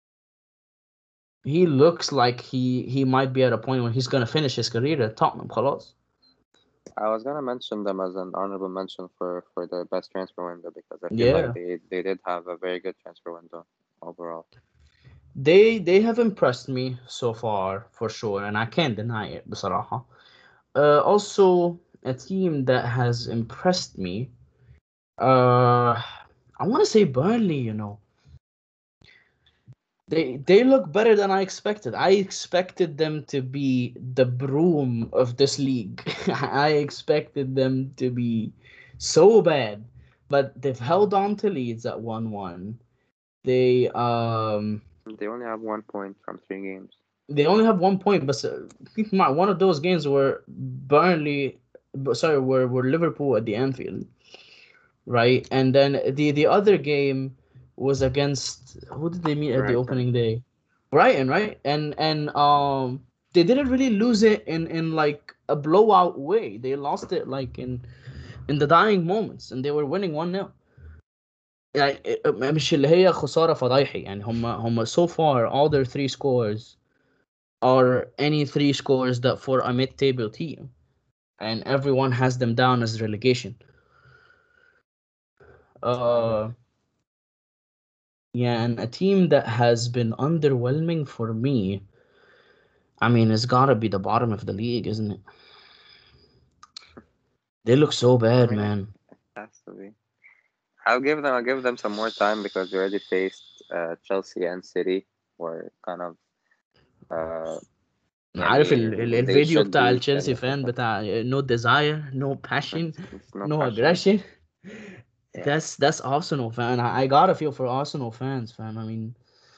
He looks like he might be at a point when he's gonna finish his career at Tottenham خلاص. I was gonna mention them as an honorable mention for the best transfer window because I feel like Yeah, they did have a very good transfer window overall. they have impressed me so far for sure, and I can't deny it بصراحة. Also, a team that has impressed me. I want to say Burnley. They look better than I expected. I expected them to be the broom of this league. I expected them to be so bad, but they've held on to leads at 1-1. They They only have 1 point from 3 games. they only have 1 point, but keep in mind one of those games were were Liverpool at the Anfield, right? And then the other game was against, who did they meet at the Brighton. opening day? Brighton, right? And they didn't really lose it in like a blowout way. They lost it like in the dying moments, and they were winning 1-0. يعني مش اللي هي خسارة فضايحي يعني هم so far all their three scores are any three scores that for a mid-table team, and everyone has them down as relegation. Uh, Yeah, and a team that has been underwhelming for me, I mean, it's gotta be the bottom of the league, isn't it? They look so I bad, mean, it man. has to be. I'll give them some more time because they already faced Chelsea and City, were kind of uh عارف they الفيديو should بتاع be التشيلسي finished with فان them. بتاع no desire, no passion, It's no no passion. aggression. Yeah. That's Arsenal fan. I gotta feel for Arsenal fans, fam. I mean,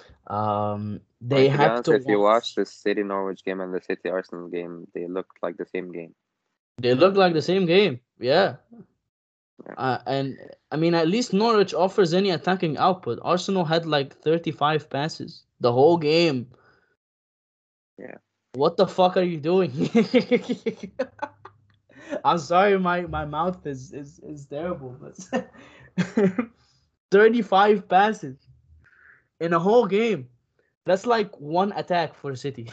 I they mean, to be have honest, to if you watch watch. the City Norwich game and the City Arsenal game, they looked like the same game. They look like the same game, yeah. Yeah. And I mean, at least Norwich offers any attacking output. Arsenal had like 35 passes the whole game. Yeah. What the fuck are you doing? I'm sorry, my mouth is terrible, but 35 passes in a whole game. That's like one attack for City.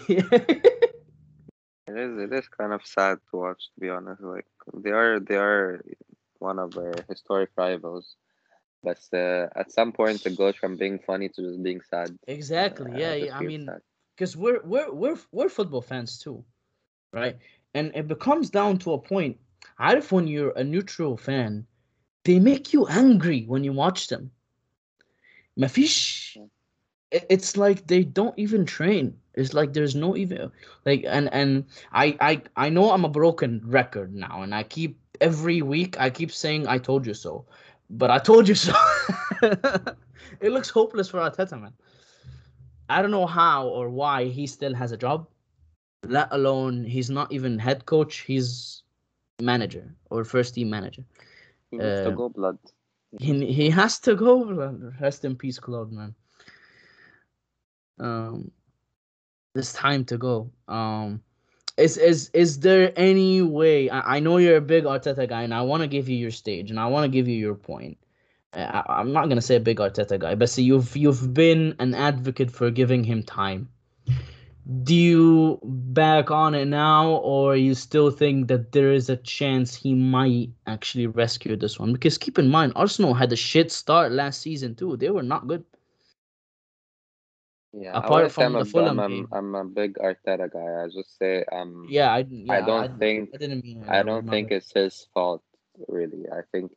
It is kind of sad to watch, to be honest. Like they are one of our historic rivals, but at some point it goes from being funny to just being sad. Exactly. I Yeah, just yeah. I feel mean, sad. because we're football fans too, right? And it becomes down to a point. عارف when you're a neutral fan, they make you angry when you watch them. مفيش. Yeah. It's like they don't even train. It's like there's no even like and I know I'm a broken record now, and I keep every week I keep saying I told you so, but I told you so. It looks hopeless for Arteta, man. I don't know how or why he still has a job. Let alone he's not even head coach. He's manager or first team manager. He needs to Uh, go, blood. He needs to he go. has to go. Rest in peace, Claude, man. Um, it's time to go. Is there any way? I know you're a big Arteta guy, and I want to give you your stage, and I want to give you your point. I'm not gonna say a big Arteta guy, but see, you've been an advocate for giving him time. Do you back on it now, or you still think that there is a chance he might actually rescue this one? Because keep in mind, Arsenal had a shit start last season too. They were not good, Yeah, I apart wouldn't say from the Fulham game. I'm a big Arteta guy. I just say Yeah, I don't think I didn't mean it. I That was don't my think bad. it's his fault really. I think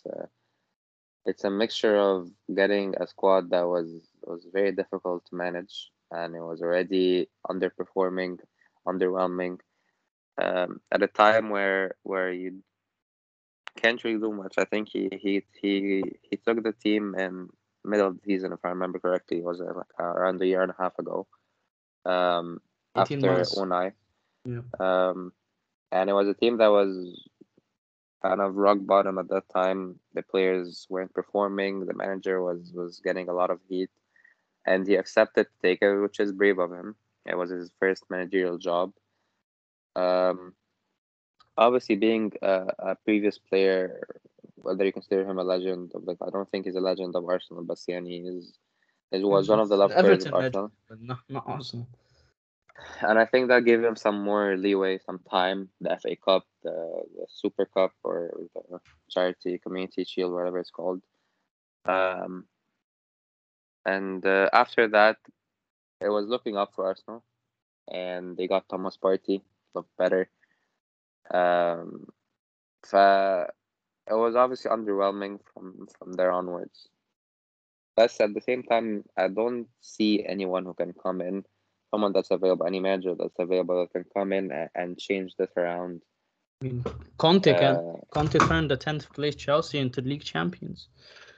it's a mixture of getting a squad that was very difficult to manage, and it was already underperforming, underwhelming, at a time where you can't really do much. I think he took the team in middle of the season, if I remember correctly. It was like around a year and a half ago. Um, 18 after months. Unai, Yeah. um, and it was a team that was kind of rock bottom at that time. The players weren't performing. The manager was getting a lot of heat, and he accepted to take it, which is brave of him. It was his first managerial job. Um, Obviously, being a previous player, whether you consider him a legend of like, I don't think he's a legend of Arsenal, but Siani is was one of the He's love players of Everton legend, Arsenal, but not Arsenal. and I think that gave him some more leeway, some time. The FA Cup, the Super Cup, or the Charity Community Shield, whatever it's called. Um, and after that, it was looking up for Arsenal, and they got Thomas Partey, looked better. Um, it was obviously underwhelming from there onwards. Plus, at the same time, I don't see anyone who can come in, someone that's available, any manager that's available that can come in and change this around. I mean, Conte can. Uh, Conte turned the 10th place Chelsea into league champions.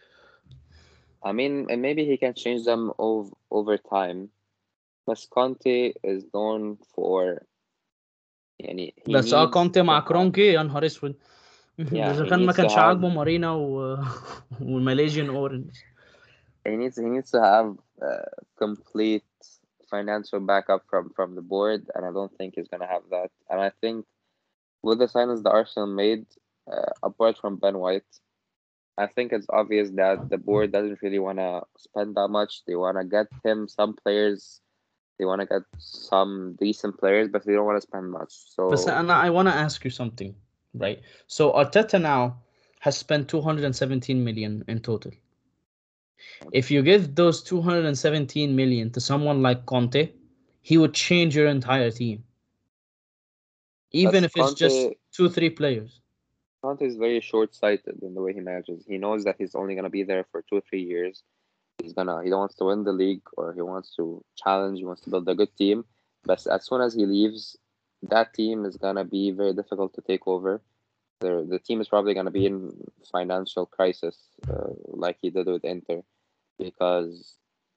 I mean, and maybe he can change them over time. But Conte is known for, يعني, he بس needs كونتي to مع have, كرونكي يا نهار اسود. ده yeah, اذا he كان ما needs to كانش have, عاجبه مارينا والماليزيان اورنج. he needs to have complete financial backup from the board, and I don't think he's gonna have that. And I think with the signings that Arsenal made, apart from Ben White, I think it's obvious that the board doesn't really want to spend that much. They want to get him some players. They want to get some decent players, but they don't want to spend much. بس So I want to ask you something, right? So Arteta now has spent 217 million in total. If you give those 217 million to someone like Conte, he would change your entire team, even that's if it's just Conte. two, three players. Conte is very short-sighted in the way he manages. He knows that he's only gonna be there for 2 or 3 years. He wants to win the league, or he wants to challenge. He wants to build a good team. But as soon as he leaves, that team is gonna be very difficult to take over. the team is probably going to be in financial crisis, like he did with Inter, because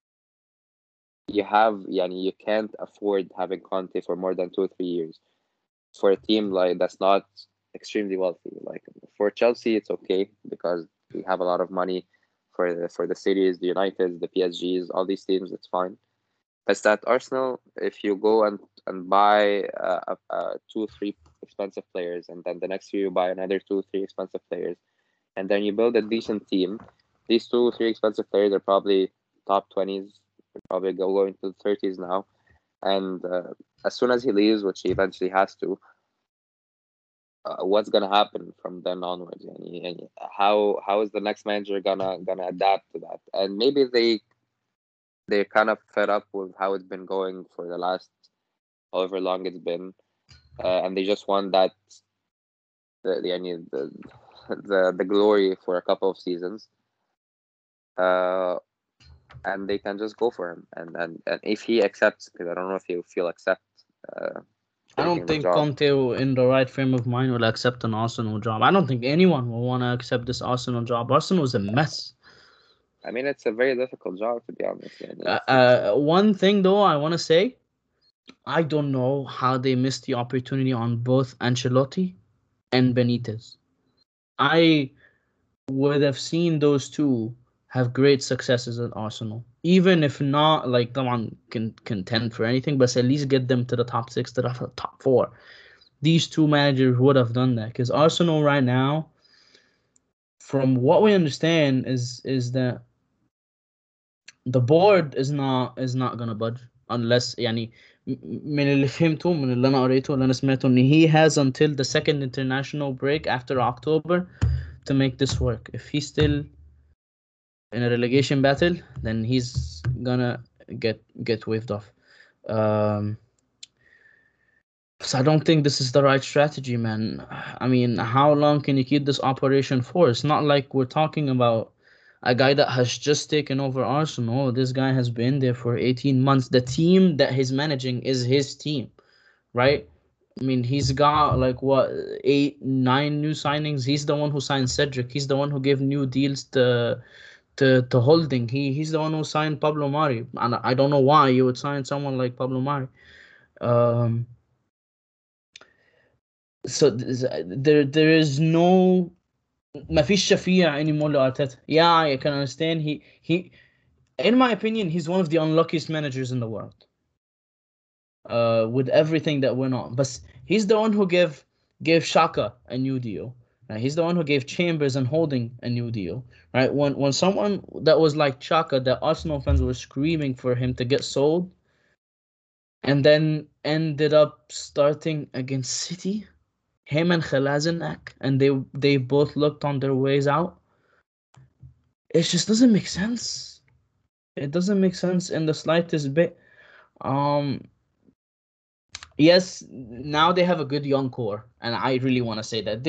you can't afford having Conte for more than 2 or 3 years for a team like that's not extremely wealthy. Like for Chelsea, it's okay because we have a lot of money for the cities, the Uniteds, the PSGs, all these teams. It's fine. But that Arsenal, if you go and buy two, three expensive players, and then the next year you buy another two, three expensive players, and then you build a decent team, these two, three expensive players are probably top 20s, probably going to the 30s now. And as soon as he leaves, which he eventually has to, what's gonna happen from then onwards? And how is the next manager gonna adapt to that? And maybe they're kind of fed up with how it's been going for the last however long it's been, and they just want that the the glory for a couple of seasons, and they can just go for him. And if he accepts, because I don't know if he'll accept I don't taking the think job. Conte, in the right frame of mind, will accept an Arsenal job. I don't think anyone will want to accept this Arsenal job. Arsenal is a mess. I mean, it's a very difficult job, to be honest. And One thing though, I want to say, I don't know how they missed the opportunity on both Ancelotti and Benitez. I would have seen those two have great successes at Arsenal, even if not like come on can contend for anything, but at least get them to the top six, to the top four. These two managers would have done that because Arsenal right now, from what we understand, is that the board is not gonna budge unless يعني من اللي فهمته من اللي انا قريته اللي انا سمعته ان he has until the second international break after October to make this work. If he's still in a relegation battle, then he's gonna get waved off. Um, so I don't think this is the right strategy, man. I mean, how long can you keep this operation for? It's not like we're talking about a guy that has just taken over Arsenal. This guy has been there for 18 months. The team that he's managing is his team, right? I mean, he's got like what, eight, nine new signings. He's the one who signed Cedric. He's the one who gave new deals to Holding. He's the one who signed Pablo Mari, and I don't know why you would sign someone like Pablo Mari. Um, so there is no ما فيش شفيع anymore لأرتيتا. Yeah, I can understand. He in my opinion, he's one of the unluckiest managers in the world. With everything that went on, but he's the one who gave Shaka a new deal. Right? He's the one who gave Chambers and Holding a new deal. Right? When someone that was like Shaka, that Arsenal fans were screaming for him to get sold, and then ended up starting against City, him and Khalazinak, and they both looked on their ways out. It just doesn't make sense. It doesn't make sense in the slightest bit. Um, yes, now they have a good young core, and I really want to say that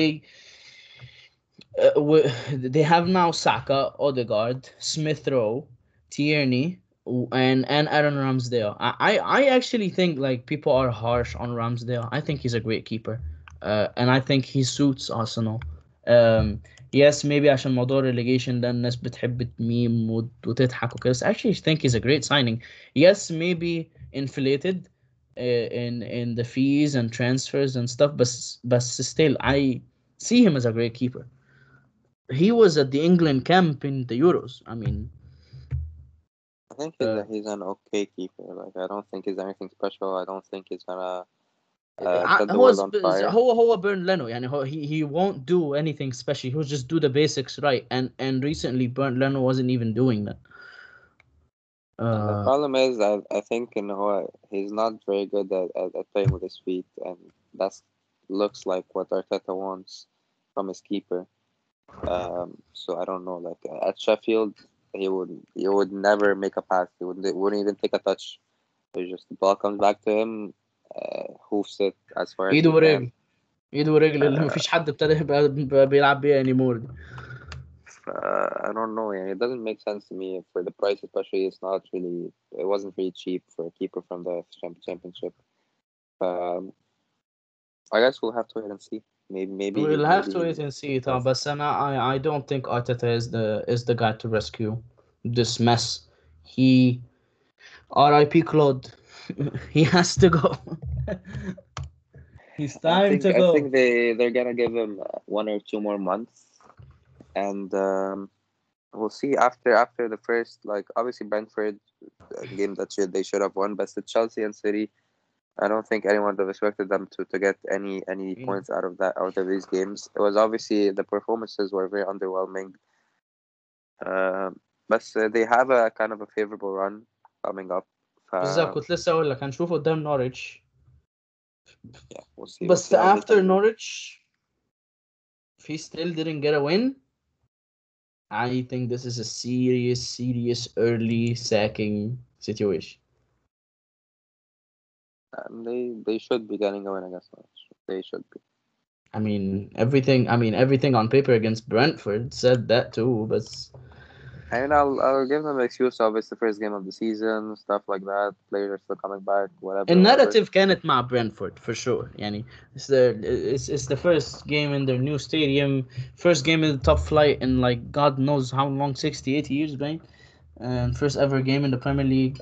they have now Saka, Odegaard, Smith Rowe, Tierney, and Aaron Ramsdale. I actually think like people are harsh on Ramsdale. I think he's a great keeper, and I think he suits Arsenal. Um, yes, maybe عشان موضوع relegation ده الناس بتحب تميم وتضحك وكده. I actually think he's a great signing. Yes, maybe inflated in the fees and transfers and stuff, but still I see him as a great keeper. He was at the England camp in the Euros. I mean, I think uh, he's an okay keeper. Like I don't think he's anything special. I don't think he's gonna set the هو world on fire. هو بيرن لينو يعني he won't do anything special. He'll just do the basics right. And recently Bernd Leno wasn't even doing that. And the Uh, problem is, I think he's not very good at playing with his feet, and that's looks like what Arteta wants from his keeper. So I don't know. Like at Sheffield, he would never make a pass. He wouldn't even take a touch. It's just the ball comes back to him, hoofs it as far as ايده he can. ورجل ايده ورجل اللي Uh, مفيش حد ابتدى يبقى بيلعب بيها anymore دي. I don't know. Yeah, it doesn't make sense to me for the price, especially. It wasn't really cheap for a keeper from the championship. Um, I guess we'll have to wait and see. We'll have to wait maybe and see, Tom. yes. But I don't think Arteta is the guy to rescue this mess. He R.I.P. Claude. He has to go. It's time to I go. think they're gonna give him 1 or 2 more months, and we'll see after the first, like, obviously Brentford game that they should have won, but the Chelsea and City, I don't think anyone would have expected them to get any Yeah. points out of these games. It was obviously the performances were very underwhelming, uh, but they have a kind of a favorable run coming up. بالظبط Uh, كنت لسه اقول لك هنشوف قدام نورwich. yeah, we'll But see how they after can do. Norwich, if he still didn't get a win, I think this is a serious early sacking situation. They should be getting a win against Norwich. They should be. Everything on paper against Brentford said that too, but I mean, I'll give them an excuse of it's the first game of the season, stuff like that. Players are still coming back, whatever. الناراتيف كانت مع برنتفورد for sure يعني it's the first game in their new stadium, first game in the top flight in like God knows how long, 68 years, man, and first ever game in the Premier League.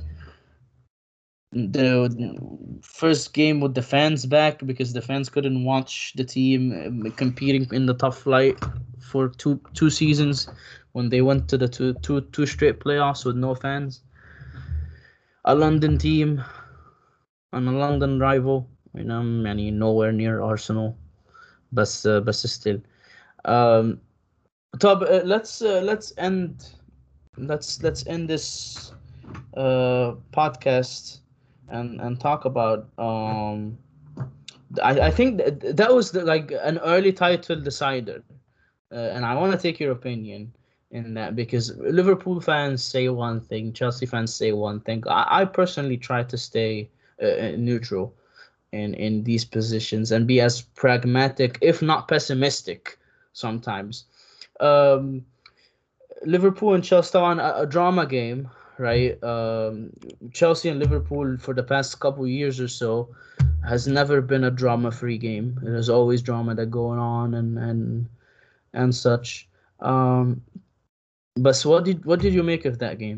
Yeah. The first game with the fans back because the fans couldn't watch the team competing in the top flight for two seasons when they went to the two straight playoffs with no fans. A London team and a London rival, nowhere near Arsenal, but still. Um, طب let's end this podcast and talk about I think that was like an early title decider, and I want to take your opinion in that because Liverpool fans say one thing, Chelsea fans say one thing. I personally try to stay neutral in these positions and be as pragmatic, if not pessimistic, sometimes. Um, Liverpool and Chelsea on a drama game, right? Chelsea and Liverpool for the past couple years or so has never been a drama-free game. There's always drama that going on and such. But so what did you make of that game?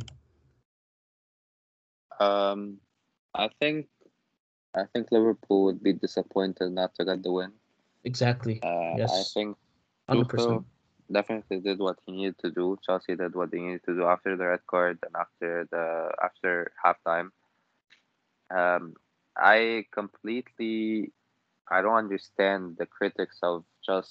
Um, I think I think Liverpool would be disappointed not to get the win. Exactly. I Yes, think 100%. Tuchel definitely did what he needed to do. Chelsea did what they needed to do after the red card and after halftime. Um, I don't understand the critics of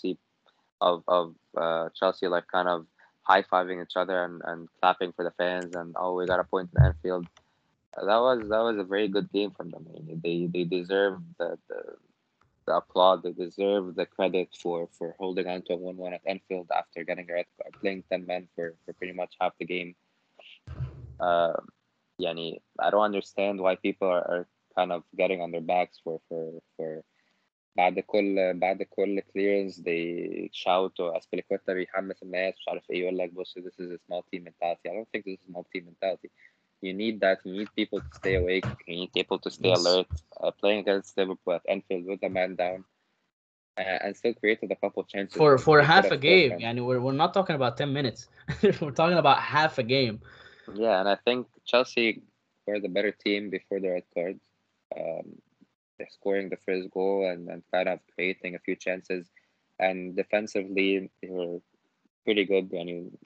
Chelsea, like, kind of high fiving each other and clapping for the fans, and oh, we got a point in Anfield. That was a very good game from them. I mean, they deserve the applaud. They deserve the credit for holding on to a 1-1 at Anfield after getting a red card, playing 10 men for pretty much half the game. Uh, Yani, I don't understand why people are kind of getting on their backs for بعد كل clearance they shout اسبليكويتا بيحمس الناس مش عارف ايه يقول لك بص this is a small team mentality. I don't think this is a small team mentality. You need that. You need people to stay awake. You need people to stay Yes. alert. Playing against Liverpool at Anfield with a man down, and still created a couple chances For that for they could half have a scored game, from. and we're not talking about 10 minutes. We're talking about half a game. Yeah, and I think Chelsea were the better team before the red card. Um, they're scoring the first goal and kind of creating a few chances. And defensively, they were pretty good. I mean,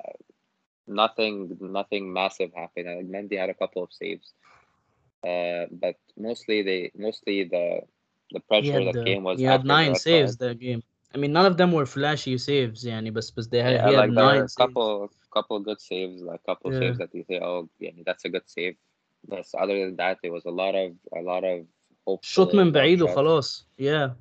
nothing massive happened. Mendy had a couple of saves, but mostly the He pressure had that uh, came was he had after the nine red saves card. that game. I mean, none of them were flashy saves, yani, but he Yeah, had like there were nine a saves. couple good saves, like couple Yeah. saves that you say, oh, yeah, that's a good save. But other than that, it was a lot of شوط hopeful من long بعيد shots. وخلاص. Yeah.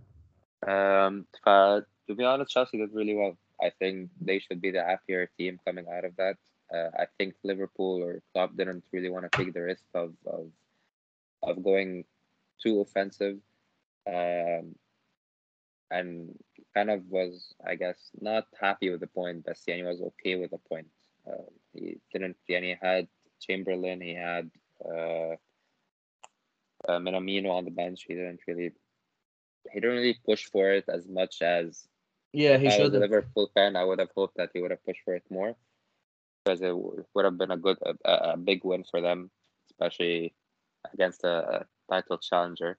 To be honest, Chelsea did really well. I think they should be the happier team coming out of that. I think Liverpool or Klopp didn't really want to take the risk of going too offensive, um, and kind of was, I guess, not happy with the point. But Siani was okay with the point. He didn't. Siani had Chamberlain. He had uh, Minamino on the bench. He didn't really he didn't really push for it as much as Yeah, if he I was should a have. Liverpool fan, I would have hoped that he would have pushed for it more because it would have been a big win for them, especially against a title challenger.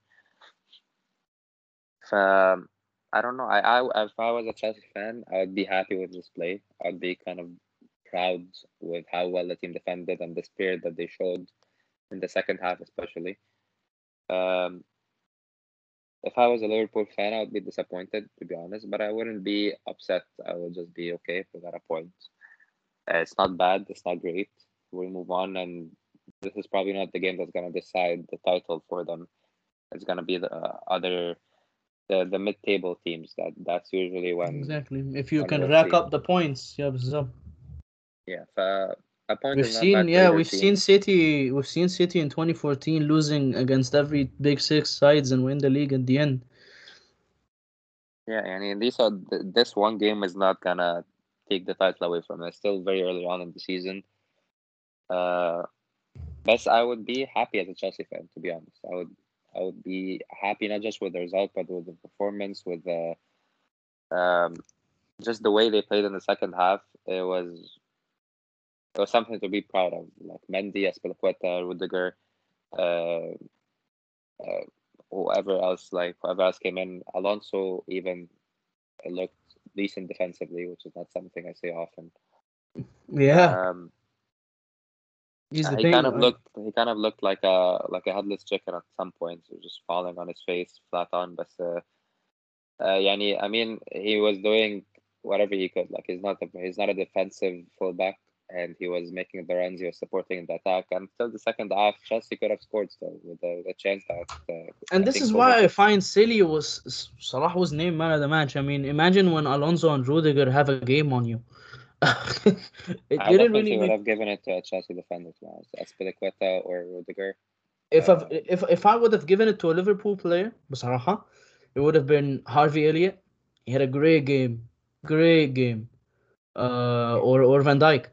I don't know. If I was a Chelsea fan, I would be happy with this play. I'd be kind of proud with how well the team defended and the spirit that they showed in the second half, especially. Um, if I was a Liverpool fan, I would be disappointed, to be honest, but I wouldn't be upset. I would just be okay if we got a point. It's not bad. It's not great. We'll move on, and this is probably not the game that's gonna decide the title for them. It's gonna be the other the mid-table teams. That's usually Exactly. If you when can we'll rack see. up the points, yeah, بالظبط. Yeah, a point is not bad for Yeah, either team. We've seen City in 2014 losing against every big six sides and win the league at the end. Yeah, and these are this one game is not gonna take the title away from it. It's still very early on in the season. Uh, but I would be happy as a Chelsea fan, to be honest. I would be happy not just with the result, but with the performance, with the um, just the way they played in the second half. It was something to be proud of. Like Mendy, Azpilicueta, Rudiger, uh, uh, whoever else came in. Alonso even looked decent defensively, which is not something I say often. Yeah, Um, he's the he kind of looked like a headless chicken at some points. He was just falling on his face, flat on. But يعني, I mean, he was doing whatever he could. Like he's not a defensive fullback, and he was making the runs. He was supporting the attack. Until the second half, Chelsea could have scored still with the chance that And I this think is Kovac. why I find silly Salah was named man of the match. I mean, imagine when Alonso and Rudiger have a game on you. It I didn't really definitely would make. have given it to a Chelsea defender, to be honest. Azpilicueta or Rudiger. If I would have given it to a Liverpool player, بصراحة, it would have been Harvey Elliott. He had a great game. Or Van Dijk.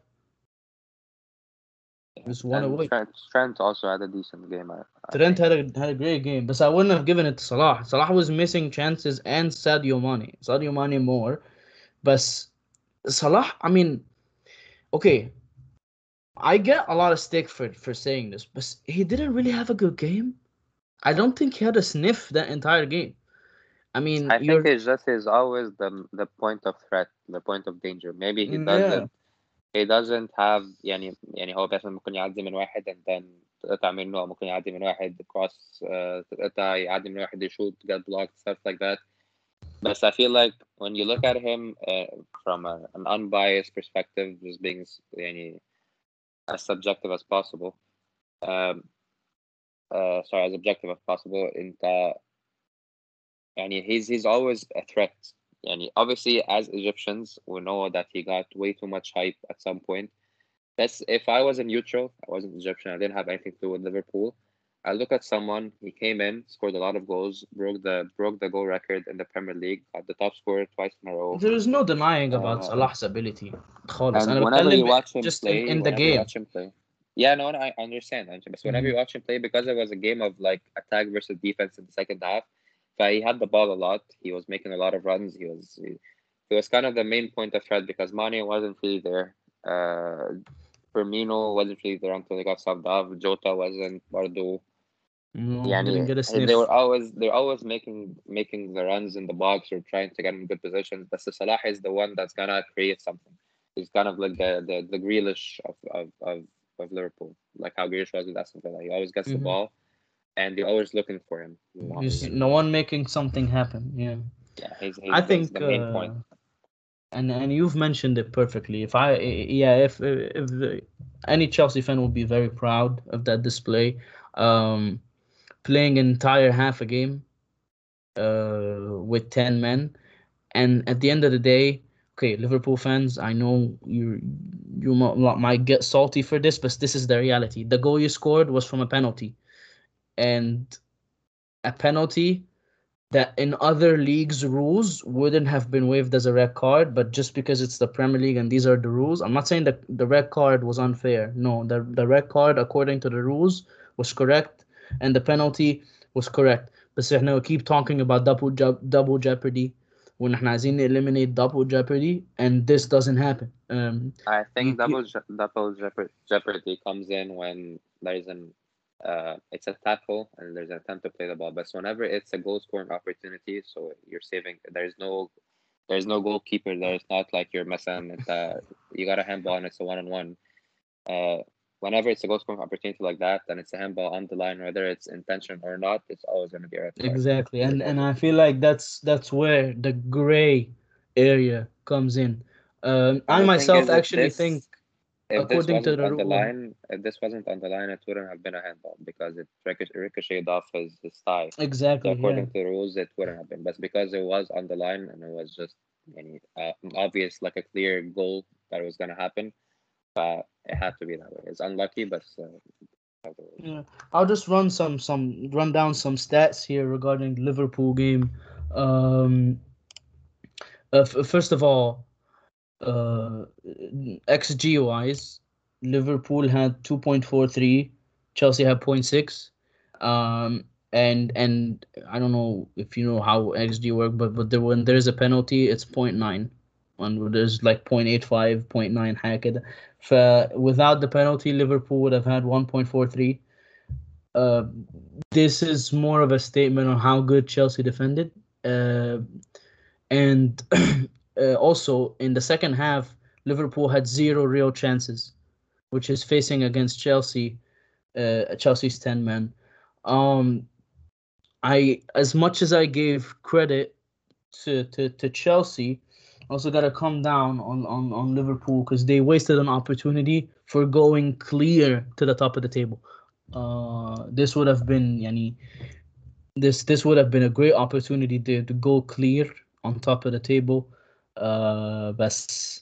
Yeah. Just one And away. Trent also had a decent game, I Trent think. had a great game, but I wouldn't have given it to Salah. Salah was missing chances and Sadio Mane more, but Salah. I mean, okay, I get a lot of stick for saying this, but he didn't really have a good game. I don't think he had a sniff that entire game. I mean, I think you're it just is always the point of threat, the point of danger. Maybe yeah. he doesn't have يعني هو مثلا ممكن يعدي من واحد and then تقطع منه أو ممكن يعدي من واحد cross تقطع يعدي من واحد يشوط get blocked stuff like that. But I feel like when you look at him from an unbiased perspective, just being يعني as subjective as possible, um, sorry, as objective as possible, انت يعني he's always a threat. يعني obviously as Egyptians we know that he got way too much hype at some point. That's if I was a neutral, I wasn't Egyptian, I didn't have anything to do with Liverpool. I look at someone, he came in, scored a lot of goals, broke the goal record in the Premier League, got the top scorer twice in a row. There is no denying about Uh, Salah's ability. خالص. and أنا بتكلم just in the whenever you game. watch him play, yeah, no, I understand. But whenever you watch him play, because it was a game of like attack versus defense in the second half, so he had the ball a lot. He was making a lot of runs. He was kind of the main point of threat because Mane wasn't really there. Firmino wasn't really there until he got subbed off. Jota wasn't. Bardo. No, didn't Yani, get a sniff. they're always making the runs in the box or trying to get in good positions. But Salah is the one that's gonna create something. He's kind of like the Grealish of Liverpool, like how Grealish was with Aston Villa. He always gets the ball, and you're always looking for him. There's no one making something happen. Yeah, Yeah, I that's think, the main point. and you've mentioned it perfectly. If any Chelsea fan will be very proud of that display. Um, Playing an entire half a game, with 10 men, and at the end of the day, okay, Liverpool fans, I know might get salty for this, but this is the reality. The goal you scored was from a penalty, and a penalty that in other leagues' rules wouldn't have been waived as a red card, but just because it's the Premier League and these are the rules, I'm not saying that the red card was unfair. No, the red card according to the rules was correct, and the penalty was correct. بس احنا we keep talking about double jeopardy when احنا عايزين eliminate double jeopardy and this doesn't happen. I You think keep jeopardy comes in when there's an it's a tackle and there's an attempt to play the ball. But whenever it's a goal scoring opportunity, so you're saving. There's no goalkeeper there. It's not like you're messing. You got a handball and it's a 1-on-1. Whenever it's a goal scoring opportunity like that, then it's a handball on the line, whether it's intention or not. It's always going to be a red card, exactly, and regardless. I feel like that's where the gray area comes in. And I the thing myself is, actually think, if this according to wasn't the on the rule, line, if this wasn't on the line, it wouldn't have been a handball because it ricocheted off his thigh. So exactly, yeah, according to the rules, it wouldn't have been. But because it was on the line and it was just obvious, like a clear goal that it was gonna happen, it had to be that way. It's unlucky, but how the rules. yeah. I'll just run down some stats here regarding the Liverpool game. Um, First of all, uh, XG wise, Liverpool had 2.43, Chelsea had point 0.6. And I don't know if you know how XG work, but when there's a penalty, it's point 0.9. When there's like 0.85, 0.9 حاجة كده. Without the penalty, Liverpool would have had 1.43. Uh, this is more of a statement on how good Chelsea defended. And also in the second half, Liverpool had zero real chances, which is facing against Chelsea, Chelsea's 10 men. Um, I as much as I gave credit to Chelsea, I also gotta come down on Liverpool because they wasted an opportunity for going clear to the top of the table. This would have been yani, this would have been a great opportunity to go clear on top of the table. But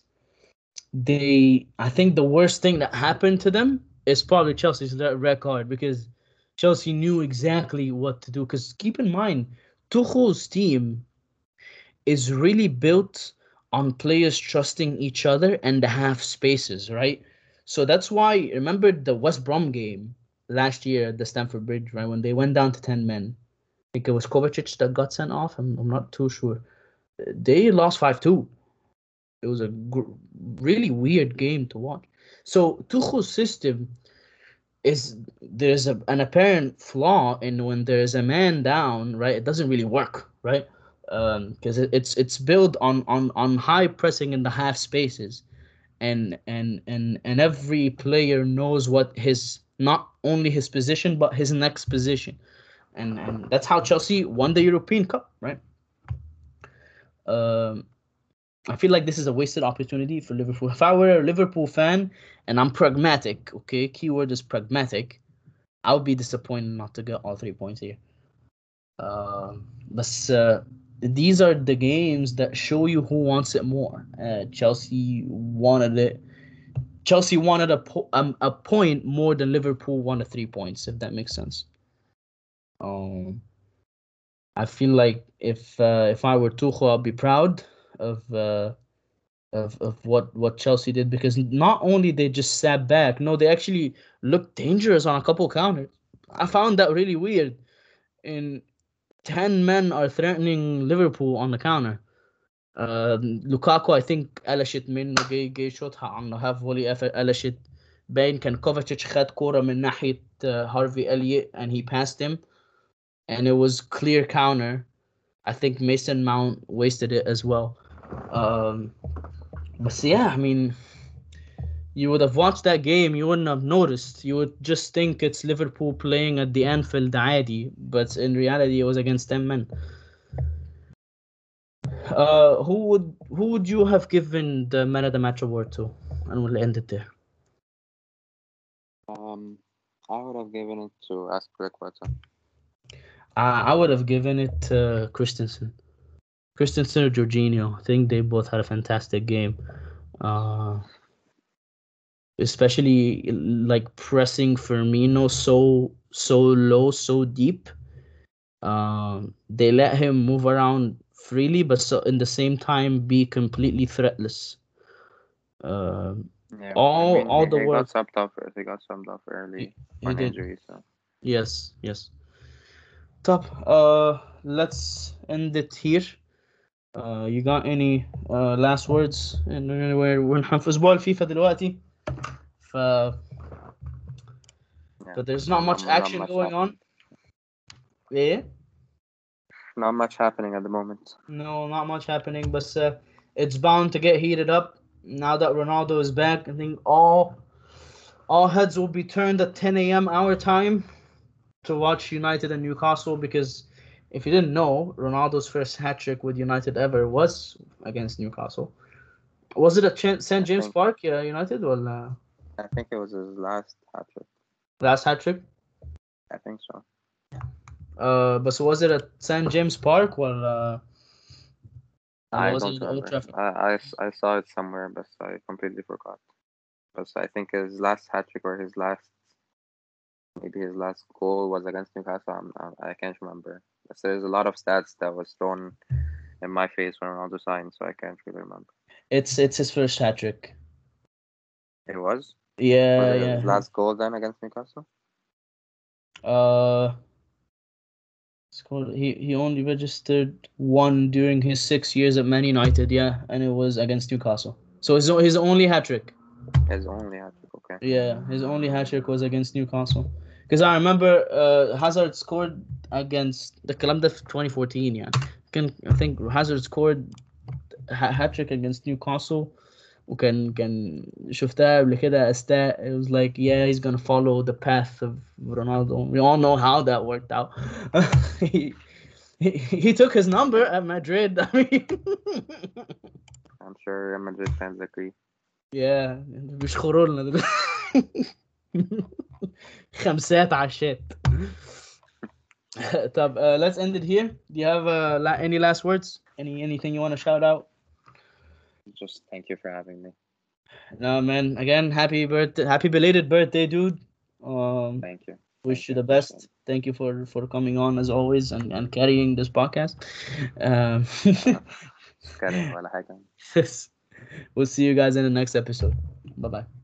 I think the worst thing that happened to them is probably Chelsea's red card because Chelsea knew exactly what to do. Because keep in mind, Tuchel's team is really built on players trusting each other and the half spaces, right? So that's why remember the West Brom game last year at the Stamford Bridge, right? When they went down to 10 men. I think it was Kovacic that got sent off. I'm not too sure. They lost 5-2. It was a really weird game to watch. So Tuchel's system is there's an apparent flaw in when there's a man down, right? It doesn't really work, right? Because it's built on high pressing in the half spaces, and every player knows what his not only his position but his next position, and that's how Chelsea won the European Cup, right? Um, I feel like this is a wasted opportunity for Liverpool. If I were a Liverpool fan and I'm pragmatic, okay, keyword is pragmatic, I would be disappointed not to get all 3 points here. But these are the games that show you who wants it more. Chelsea wanted it. Chelsea wanted a point more than Liverpool wanted 3 points, if that makes sense. I feel like if I were Tuchel, I'd be proud of what Chelsea did because not only they just sat back, no, they actually looked dangerous on a couple counters. I found that really weird. In 10 men are threatening Liverpool on the counter. Lukaku I think قلشت منه جاي شوطها عنه هاف فولي قلشت باين كان كوفاتشيتش خد كورة من ناحية هارفي إليوت and he passed him and it was clear counter. I think Mason Mount wasted it as well. Um, but yeah, I mean, you would have watched that game, you wouldn't have noticed. You would just think it's Liverpool playing at the Anfield عادي, but in reality, it was against 10 men. Who would you have given the man of the match award to? And we'll end it there. I would have given it to Aspilicueta. I would have given it to Christensen. Christensen or Jorginho. I think they both had a fantastic game. Especially like pressing Firmino so low, so deep. They let him move around freely, but so in the same time be completely threatless. Yeah, I All mean all the he got work subbed off. He got subbed off early he on did. injury. So Yes, yes. Top. Let's end it here. You got any last words in anywhere ونحن في اسبوع الفيفا دلوقتي ف Yeah, but there's not much not action much going on. happening. Yeah. Not much happening at the moment. No, not much happening, but it's bound to get heated up now that Ronaldo is back. I think all heads will be turned at 10 a.m. our time to watch United and Newcastle because if you didn't know, Ronaldo's first hat trick with United ever was against Newcastle. Was it at St. I James think Park, United, or I think it was his last hat trick. last hat trick? I think so. But so was it at St. James Park or I was don't it at Old remember. Trafford? I saw it somewhere, but I completely forgot. But I think his last hat trick or maybe his last goal was against Newcastle. I can't remember. But there's a lot of stats that was thrown in my face when Ronaldo signed, so I can't really remember. It's his first hat trick. It was? Yeah, Was it yeah. his last goal then against Newcastle? Uh, scored. He only registered one during his 6 years at Man United. Yeah, and it was against Newcastle. So his only hat trick. His only hat trick, okay. Yeah, his only hat trick was against Newcastle. Because I remember Hazard scored against the الكلام ده في 2014 يعني. I think Hazard scored hat trick against Newcastle وكان شفتها قبل كده stat. It was like yeah he's gonna follow the path of Ronaldo. We all know how that worked out. he, he took his number at Madrid. I mean I'm sure Real Madrid fans agree. yeah بيشخروا لنا دلوقتي. خمسات عشات. طب let's end it here. Do you have any last words? Anything you want to shout out? Just thank you for having me. No, man. Again, happy birthday, happy belated birthday, dude. Thank you. Wish you the Appreciate best. Thank you for coming on as always and carrying this podcast. Um, it. Carrying ولا حاجة. we'll see you guys in the next episode. Bye bye.